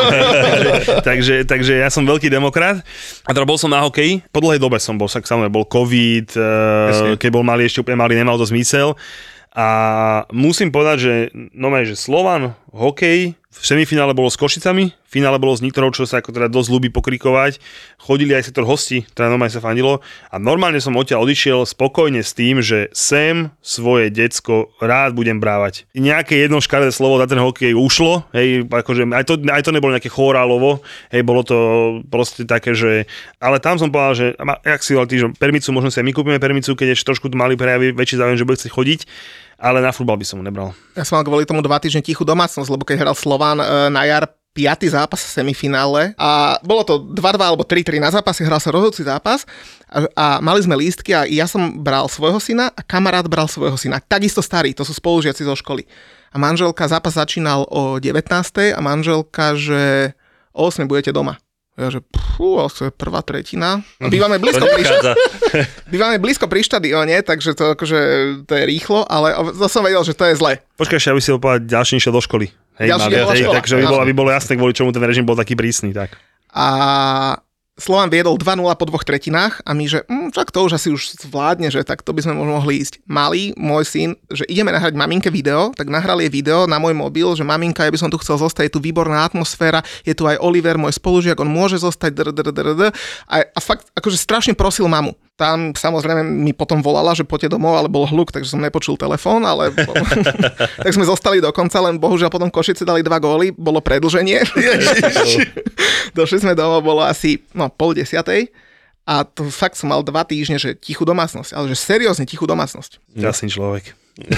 takže ja som veľký demokrat. A teda bol som na hokeji, po dlhej dobe som bol, samozrejme bol COVID, keď bol malý, ešte úplne malý, nemal to zmysel. A musím povedať, že že Slovan, hokej, v semifinále bolo s Košicami, v finále bolo s Nitrou, čo sa ako teda dosť ľúbi pokrikovať. Chodili aj sektor hostí, teda normálne sa fandilo. A normálne som odtiaľ odišiel spokojne s tým, že sem svoje decko rád budem brávať. Nejaké jedno škaredé slovo za ten hokej ušlo, hej, akože aj to nebolo nejaké chorálovo, hej, bolo to proste také, že... Ale tam som povedal, že jak si hovoril, že permicu, možno si aj my kúpime permicu, keď ešte trošku mali prejaví väčší záujem, že bude chcieť chodiť. Ale na futbal by som mu nebral. Ja som mal kvôli tomu 2 týždne tichú domácnosť, lebo keď hral Slovan na jar 5. zápas v semifinále a bolo to 2-2 alebo 3-3 na zápasy, hral sa rozhodujúci zápas a mali sme lístky a ja som bral svojho syna a kamarát bral svojho syna. Takisto starý, to sú spolužiaci zo školy. A manželka, zápas začínal o 19. a manželka, že o 8 budete doma. Ja, že to je prvá tretina. Bývame blízko pri štadióne, takže to je rýchlo, ale to som vedel, že to je zle. Počkaj, aby si povedal, ďalší išiel do školy. Hej, takže aby bolo jasné, kvôli čomu ten režim bol taký prísny. Tak. A Slovan viedol 2-0 po 2 tretinách a my, že však to už asi už zvládne, že tak to by sme mohli ísť. Malý, môj syn, že ideme nahrať maminke video, tak nahral jej video na môj mobil, že maminka, ja by som tu chcel zostať, je tu výborná atmosféra, je tu aj Oliver, môj spolužiak, on môže zostať, a fakt akože strašne prosil mamu. Tam samozrejme mi potom volala, že poďte domov, ale bol hluk, takže som nepočul telefón, ale tak sme zostali do konca, len bohužiaľ potom Košice dali 2 góly, bolo predĺženie. Došli sme domov, bolo asi 9:30 a to fakt som mal 2 týždne, že tichú domácnosť, ale že seriózne tichú domácnosť. Jasný človek.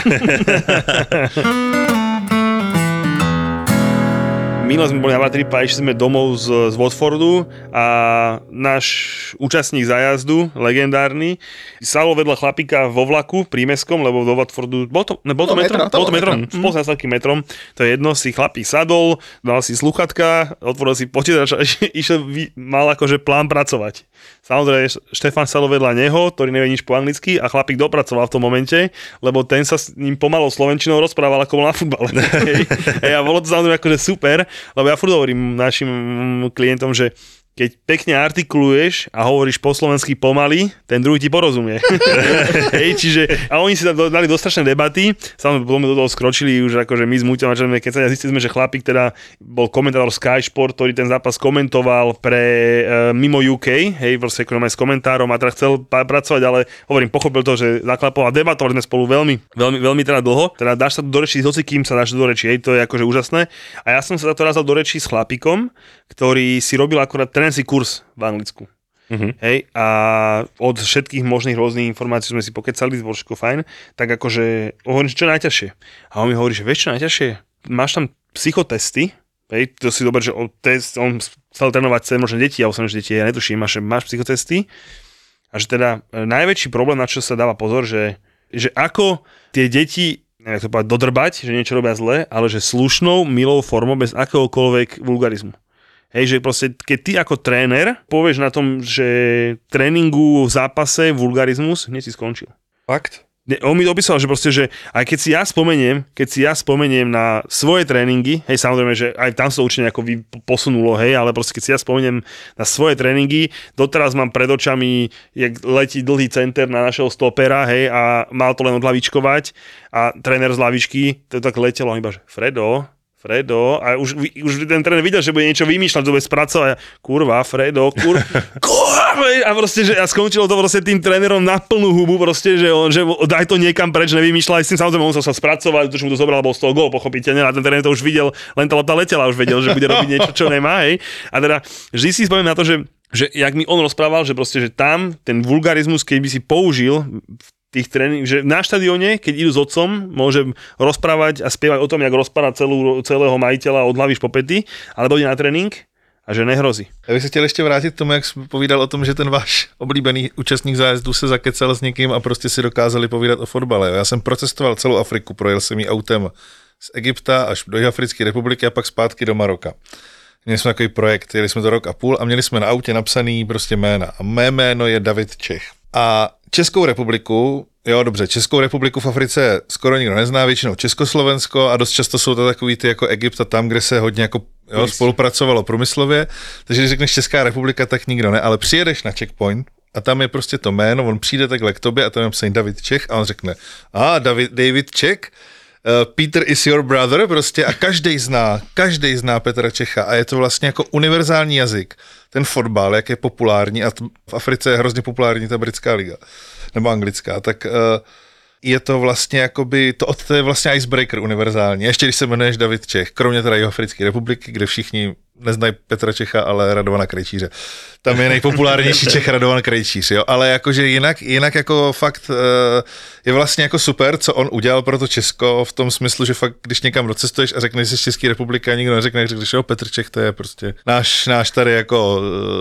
Minule sme boli na Vatripe a išli sme domov z Watfordu a náš účastník zájazdu, legendárny, sadol vedľa chlapíka vo vlaku prímeskom, lebo do Watfordu, bol to metrom? Bolo to metrom, spolu s takým metrom, to je jedno, si chlapík sadol, dal si sluchatka, otvoril si počítač a mal akože plán pracovať. Samozrejme, Štefan sadol vedľa neho, ktorý nevie nič po anglicky a chlapík dopracoval v tom momente, lebo ten sa s ním pomalou slovenčinou rozprával, ako bol na futbale. A bolo to samozrejme akože super, lebo ja furt hovorím našim klientom, že keď pekne artikuluješ a hovoríš po slovensky pomaly, ten druhý ti porozumie. Hej, čiže, a oni si dali dostrašné debaty, samozrejme do toho skročili už akože my s Muťom, keď sa zistili sme, že chlapík teda bol komentátor Sky Sport, ktorý ten zápas komentoval pre mimo UK, hej, proste s komentárom a teda chcel pracovať, ale hovorím, pochopil to, že zaklapol a debatovali sme spolu veľmi teda dlho, teda dáš sa do rečí s hocikým sa dáš do rečí, hej, to je akože úžasné. A ja som sa to raz dal do rečí s chlapíkom, ktorý si robil akurát si kurz v Anglicku. Hej, a od všetkých možných rôznych informácií sme si pokecali, bolo všetko fajn, tak akože hovorím, čo je najťažšie. A on mi hovorí, že vieš čo najťažšie? Máš tam psychotesty, hej, to si dober, že on chcel trénovať možno deti, ja som, že deti, ja netuším, máš psychotesty a že teda najväčší problém, na čo sa dáva pozor, že že ako tie deti, neviem to povedať, dodrbať, že niečo robia zle, ale že slušnou, milou formou, bez akéhokoľvek vulgarizmu. Hej, že proste, keď ty ako tréner povieš na tom, že tréningu v zápase vulgarizmus, hneď si skončil. Fakt? On mi opísal, že proste, že aj keď si ja spomeniem na svoje tréningy, hej, samozrejme, že aj tam sa to určite nejako posunulo, hej, ale proste keď si ja spomeniem na svoje tréningy, doteraz mám pred očami, jak letí dlhý center na našeho stopera, hej, a mal to len odlavičkovať a tréner z lavičky, to tak letelo, iba, že Fredo, a už ten tréner videl, že bude niečo vymýšľať, to bude spracovať, kurva, Fredo, a proste, že a skončilo to proste tým trénerom na plnú hubu, proste, že daj to niekam preč, nevymýšľaj s tým, samozrejme on sa spracovať, už mu to zobral, bol z toho gól, pochopiteľne, a ten tréner to už videl, len tá lopta letela, už vedel, že bude robiť niečo, čo nemá, hej. A teda vždy si spomínam na to, že jak mi on rozprával, že proste, že tam ten vulgarizmus, keď by si použil tých tréning, že na štadióne, keď idú s otcom, môže rozprávať a spievať o tom, jak rozpára celého majiteľa od hlavy po pety, alebo ide na trénink a že nehrozí. Já bych se chtěl ještě vrátit k tomu, jak jsi povídal o tom, že ten váš oblíbený účastník zájezdu se zakecal s někým a prostě si dokázali povídat o fotbale. Já jsem procestoval celou Afriku, projel jsem ji autem z Egypta až do Jihoafrické republiky a pak zpátky do Maroka. Měli jsme takový projekt, jeli jsme to rok a půl a měli jsme na autě napsaný prostě jména. A mé jméno je David Čech. A Českou republiku, Českou republiku v Africe skoro nikdo nezná, většinou Československo a dost často jsou to takový ty jako Egypt a tam, kde se hodně jako spolupracovalo průmyslově, takže když řekneš Česká republika, tak nikdo ne, ale přijedeš na checkpoint a tam je prostě to jméno, on přijde takhle k tobě a tam je napsaný David Čech a on řekne, David Čech, Peter is your brother prostě a každý zná Petra Čecha a je to vlastně jako univerzální jazyk. Ten fotbal, jak je populární a v Africe je hrozně populární ta britská liga, nebo anglická, tak je to vlastně jakoby, to je vlastně icebreaker univerzální. Ještě když se jmenuješ David Čech, kromě teda Jihoafrické republiky, kde všichni neznají Petra Čecha, ale Radovana Krejčíře. Tam je nejpopulárnější Čech Radovan Krejčíř, jo, ale jakože jinak jako fakt je vlastně jako super, co on udělal pro to Česko v tom smyslu, že fakt, když někam docestuješ a řekneš, že jsi z České republiky a nikdo neřekne, že Petr Čech, to je prostě náš tady jako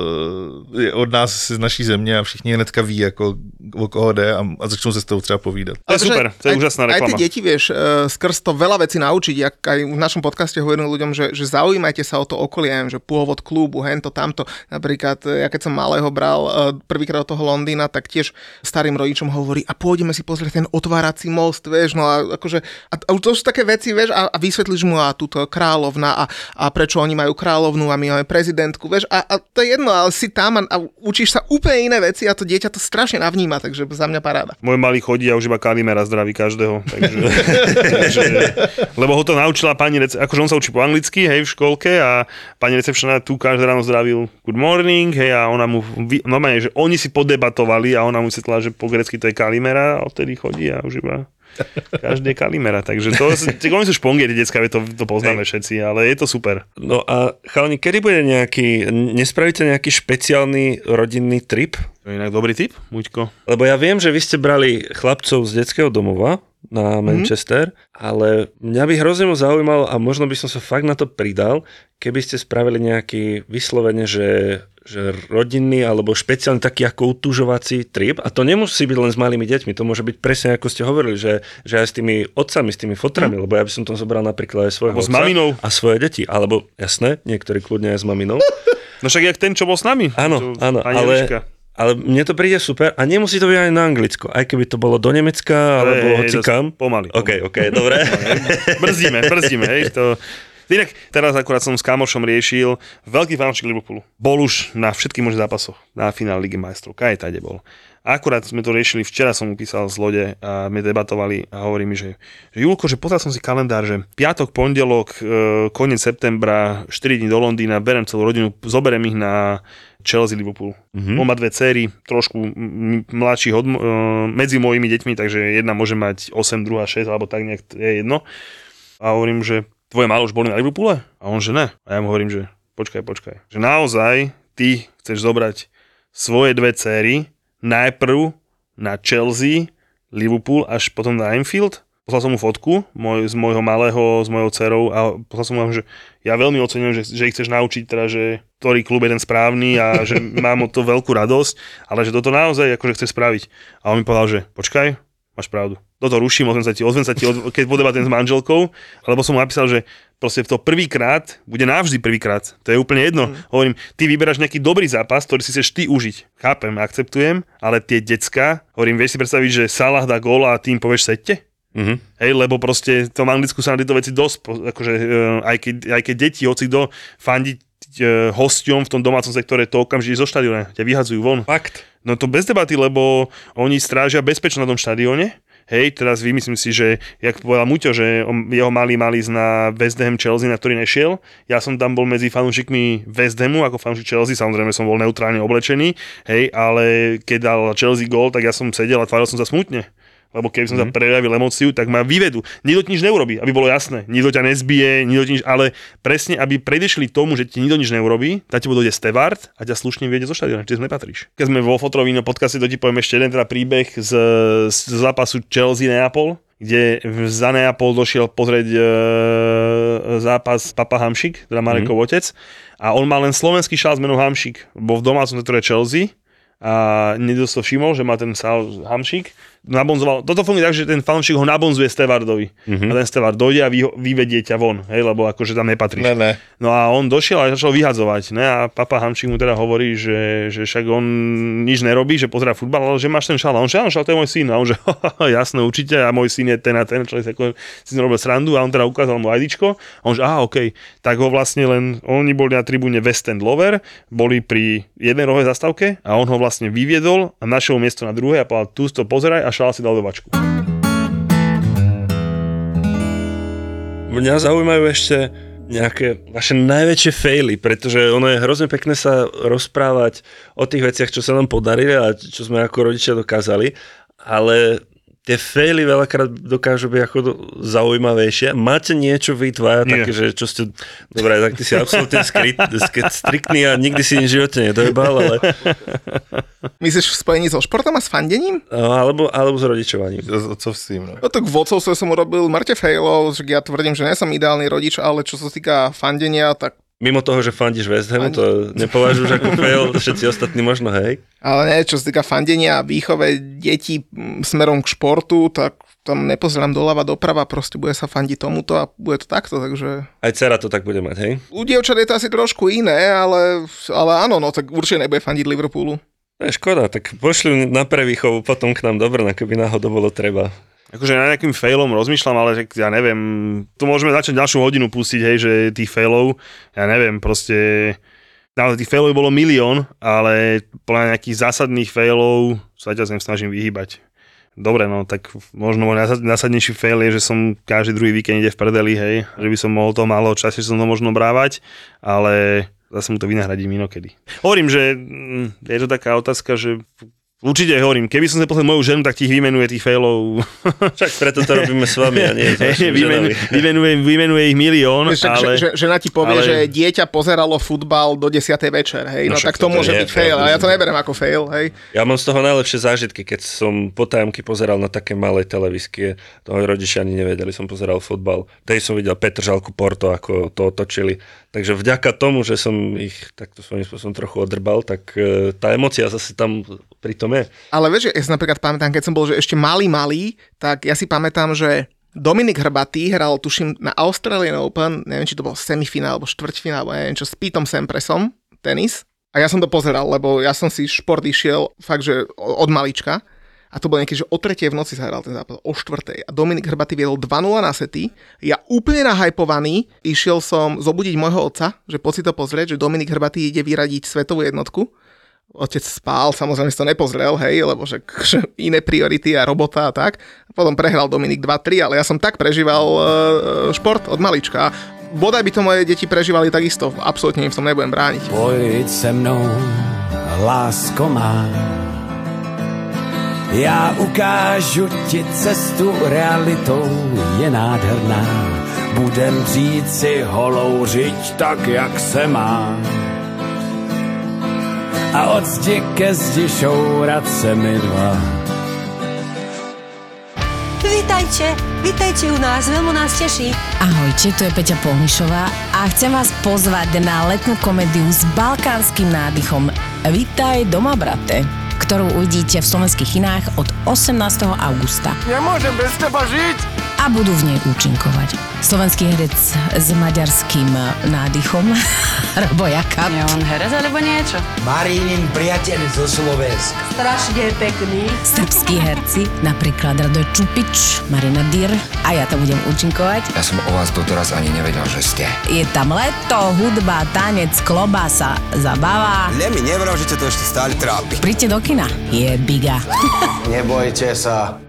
od nás z naší země a všichni hnedka ví, jako o koho jde a začnou se s tou třeba povídat. To je super, to je úžasná reklama. Aj tie deti vieš skrz to veľa vecí naučiť, jak aj v našom podcaste hovorím ľuďom, že zaujímajte sa o to okolie, že pôvod klubu, hento, tamto. Napríklad, ja keď som malého bral prvýkrát do toho Londýna, tak tiež starým rodičom hovorí, a pôjdeme si pozrieť ten otvárací most, vieš, no a akože, a to sú také veci, vieš, a vysvetlíš mu, a túto kráľovna a prečo oni majú kráľovnú a my máme prezidentku, vieš, a to je jedno, ale si tam a učíš sa úplne iné veci a to dieťa to strašne navníma, takže za mňa paráda. Môj malý chodí a už iba Kalimera zdraví každého, takže lebo ho to naučila pani akože on sa učí po anglicky, hej, v školke a pani recepčná tu každé ráno zdravil good morning, hej, a ona mu, normálne, že oni si podebatovali a ona mu vysvetlila, že po grecky to je Kalimera a odtedy chodí a už iba každý je Kalimera, takže to oni sú špongie, detská, to poznáme všetci, ale je to super. No a chalani, kedy bude nespravíte nejaký špeciálny rodinný trip? To je inak dobrý tip, Muďko. Lebo ja viem, že vy ste brali chlapcov z detského domova na Manchester, ale mňa by hrozne zaujímalo a možno by som sa fakt na to pridal, keby ste spravili nejaký vyslovene, že rodinný alebo špeciálny taký ako utužovací trip a to nemusí byť len s malými deťmi, to môže byť presne ako ste hovorili, že aj s tými otcami, s tými fotrami, lebo ja by som tam zobral napríklad aj svojho otca a svoje deti, alebo jasné, niektorí kľudne aj s maminou. No však jak ten, čo bol s nami. Áno, ale mne to príde super a nemusí to byť aj na Anglicko, aj keby to bolo do Nemecka alebo hocikam. Pomaly. OK, dobre. Brzdíme, hej, to... Inak teraz akurát som s kamošom riešil veľký fanúšik Liverpoolu. Bol už na všetkých možných zápasoch na finále Ligy majstrov. Kaj tade bol. A akurát sme to riešili, včera som mu písal z lode a my debatovali a hovorí mi, že Julko, že pozrel som si kalendár, že piatok, pondelok, koniec septembra, 4 dní do Londýna, berem celú rodinu, zoberem ich na Chelsea Liverpool. On má 2 céry, trošku mladších medzi mojimi deťmi, takže jedna môže mať 8, druhá 6, alebo tak nejak je jedno. A hovorím, že tvoje malé už boli na Liverpoole? A on, že ne. A ja mu hovorím, že počkaj. Že naozaj ty chceš zobrať svoje 2 céry najprv na Chelsea, Liverpool, až potom na Anfield? Poslal som mu fotku z môjho malého, s mojou dcerou a poslal som mu, že ja veľmi oceňujem, že ich chceš naučiť, teda, že ktorý klub je ten správny a že mám o to veľkú radosť, ale že toto naozaj akože chceš spraviť. A on mi povedal, že počkaj, máš pravdu. Toto ruším, ozvem sa ti, keď podebatem s manželkou, lebo som mu napísal, že proste to prvýkrát bude navždy prvýkrát. To je úplne jedno. Hovorím, ty vyberáš nejaký dobrý zápas, ktorý si chceš ty užiť. Chápem, akceptujem, ale tie decka, hovorím, vieš si predstaviť, že Salah dá gól a tým povieš sedte? Hej, lebo proste v tom Anglicku sa na tieto veci dosť, akože aj keď deti, hoci kto fandí hosťom v tom domácom sektore, to okamžite zo štadióna ťa vyhadzujú von. Fakt. No to bez debaty, lebo oni strážia bezpečnosť na tom štadióne. Hej, teraz vymyslím si, že jak povedal Muťo, že jeho mali ísť na West Ham Chelsea, na ktorý nešiel. Ja som tam bol medzi fanúšikmi West Hamu, ako fanúšik Chelsea, samozrejme som bol neutrálne oblečený, hej, ale keď dal Chelsea gól, tak ja som sedel a tváril som sa smutne. Lebo keby som sa prejavil emóciu, tak ma vyvedú. Nikto ti nič neurobí, aby bolo jasné. Nikto ťa nezbije, ale presne, aby predešli tomu, že ti nikto nič neurobí, tak ti dojde steward a ťa slušne vyjde zo štadióna, čiže nepatríš. Keď sme vo Fotrovíno podcaste, to ti poviem ešte jeden teda príbeh z zápasu Chelsea-Neapol, kde za Neapol došiel pozrieť zápas Papa Hamšík, teda Marekov otec, a on mal len slovenský šál s menom Hamšík, bol v domácom sektore Chelsea a niekto si všimol, že má ten sál Hamšík, nabonzoval. Toto funguje tak, že ten fanúšik ho nabonzuje stevardovi. A ten stevard dojde a vyvedie ťa von, hej, lebo akože tam nepatríš. Ne. No a on došiel a začal vyhadzovať, ne? A Papa Hamšík mu teda hovorí, že však on nič nerobí, že pozerá futbal, ale že máš ten šál. A on že áno, šál, to je môj syn. A on že jasné, určite, a môj syn je ten a ten, človek si robil srandu a on teda ukázal mu IDčko. A on že okej. Tak ho vlastne len, oni boli na tribúne West End Lover, boli pri jednej rohovej zastávke a on ho vlastne vyviedol a našiel miesto na druhej a povedal, tu to pozeraj a šál si dal do vačku. Mňa zaujímajú ešte nejaké vaše najväčšie faily, pretože ono je hrozne pekné sa rozprávať o tých veciach, čo sa nám podarili a čo sme ako rodičia dokázali, ale tie faily veľakrát dokážu byť ako zaujímavejšie. Máte niečo vy dvaja také, že čo ste... Dobre, tak ty si absolútne striktný a nikdy si nič v živote nedojebal, ale... Myslíš v spojení so športom a s fandením? Alebo s rodičovaním. Co s tým, no? No tak v vodcovstve som urobil mŕte failov, že ja tvrdím, že nie som ideálny rodič, ale čo sa týka fandenia, tak mimo toho, že fandíš West Hamu, to nepovažuješ ako fail, všetci ostatní možno, hej? Ale nie, čo sa týka fandenia a výchove detí smerom k športu, tak tam nepozerám doľava, doprava, proste bude sa fandiť tomuto a bude to takto, takže... Aj dcera to tak bude mať, hej? U dievčat je to asi trošku iné, ale áno, no tak určite nebude fandiť Liverpoolu. Škoda, tak pošli na prevýchovu potom k nám do Brna, keby náhodou bolo treba. Akože na nejakým failom rozmýšľam, ale ja neviem, tu môžeme začať ďalšiu hodinu pustiť, hej, že tých failov, ja neviem, proste, naozaj tých failov bolo milión, ale podľa nejakých zásadných failov sa ťa snažím vyhýbať. Dobre, no tak možno môj najzásadnejší fail je, že som každý druhý víkend ide v prdeli, hej, že by som mohol to málo časie, že som to možno brávať, ale zase mu to vynahradím inokedy. Hovorím, že je to taká otázka, že určite hovorím, keby som sa pozrel moju ženu, tak ti vymenuje tých failov. Však preto to robíme s vami a nie vymenuje ich milión. Ale, žena ti povie, že dieťa pozeralo futbal do 10. večer, hej, no tak to môže byť fail, a ja to neberiem ako fail, hej. Ja mám z toho najlepšie zážitky, keď som potajomky pozeral na také malé televízky, toho rodičia ani nevedeli, som pozeral futbal. Tej som videl Petržalku Porto, ako to otočili. Takže vďaka tomu, že som ich takto svojím spôsobom trochu odrbal, tak tá emócia zase tam pri tom je. Ale vieš, ja si napríklad pamätám, keď som bol že ešte malý, tak ja si pamätám, že Dominik Hrbatý hral, tuším, na Australian Open, neviem, či to bol semifinál, alebo štvrťfinál, alebo neviem čo, s Petom Sampressom, tenis. A ja som to pozeral, lebo ja som si šport išiel fakt, že od malička. A to bolo niekedy, že o 3:00 v noci sa hral ten zápas, o 4:00. A Dominik Hrbatý viedol 2-0 na sety. Ja úplne nahajpovaný išiel som zobudiť môjho otca, že poď si to pozrieť, že Dominik Hrbatý ide vyradiť svetovú jednotku. Otec spál, samozrejme si to nepozrel, hej, lebo že iné priority a robota a tak. A potom prehral Dominik 2-3, ale ja som tak prežíval šport od malička. Bodaj by to moje deti prežívali takisto, absolútne im v tom nebudem brániť. Pojď se mnou, lásko má. Já ukážu ti cestu, realitou je nádherná. Budem dřít si holou řiď tak, jak se má. A od zdi ke zdi šourat se mi dva. Vítajte u nás, veľmi nás teší. Ahojte, tu je Peťa Polnišová a chcem vás pozvať na letnú komédiu s balkánskym nádychom Vítaj doma, brate, ktorú uvidíte v slovenských kinách od 18. augusta. Nemôžem bez teba žiť! A budú v nej účinkovať slovenský herec s maďarským nádychom, Robo Jakab. Je on herec alebo niečo? Marínin priateľ zo Slovenska. Strašne pekný. Srbskí herci, napríklad Radoj Čupič, Marina Dyr a ja tam budem účinkovať. Ja som o vás doteraz ani nevedel, že ste. Je tam leto, hudba, tanec, klobása, zabava. Mi nevral, že ťa to ešte stále trápi. Príďte do kina, je biga. Nebojte sa.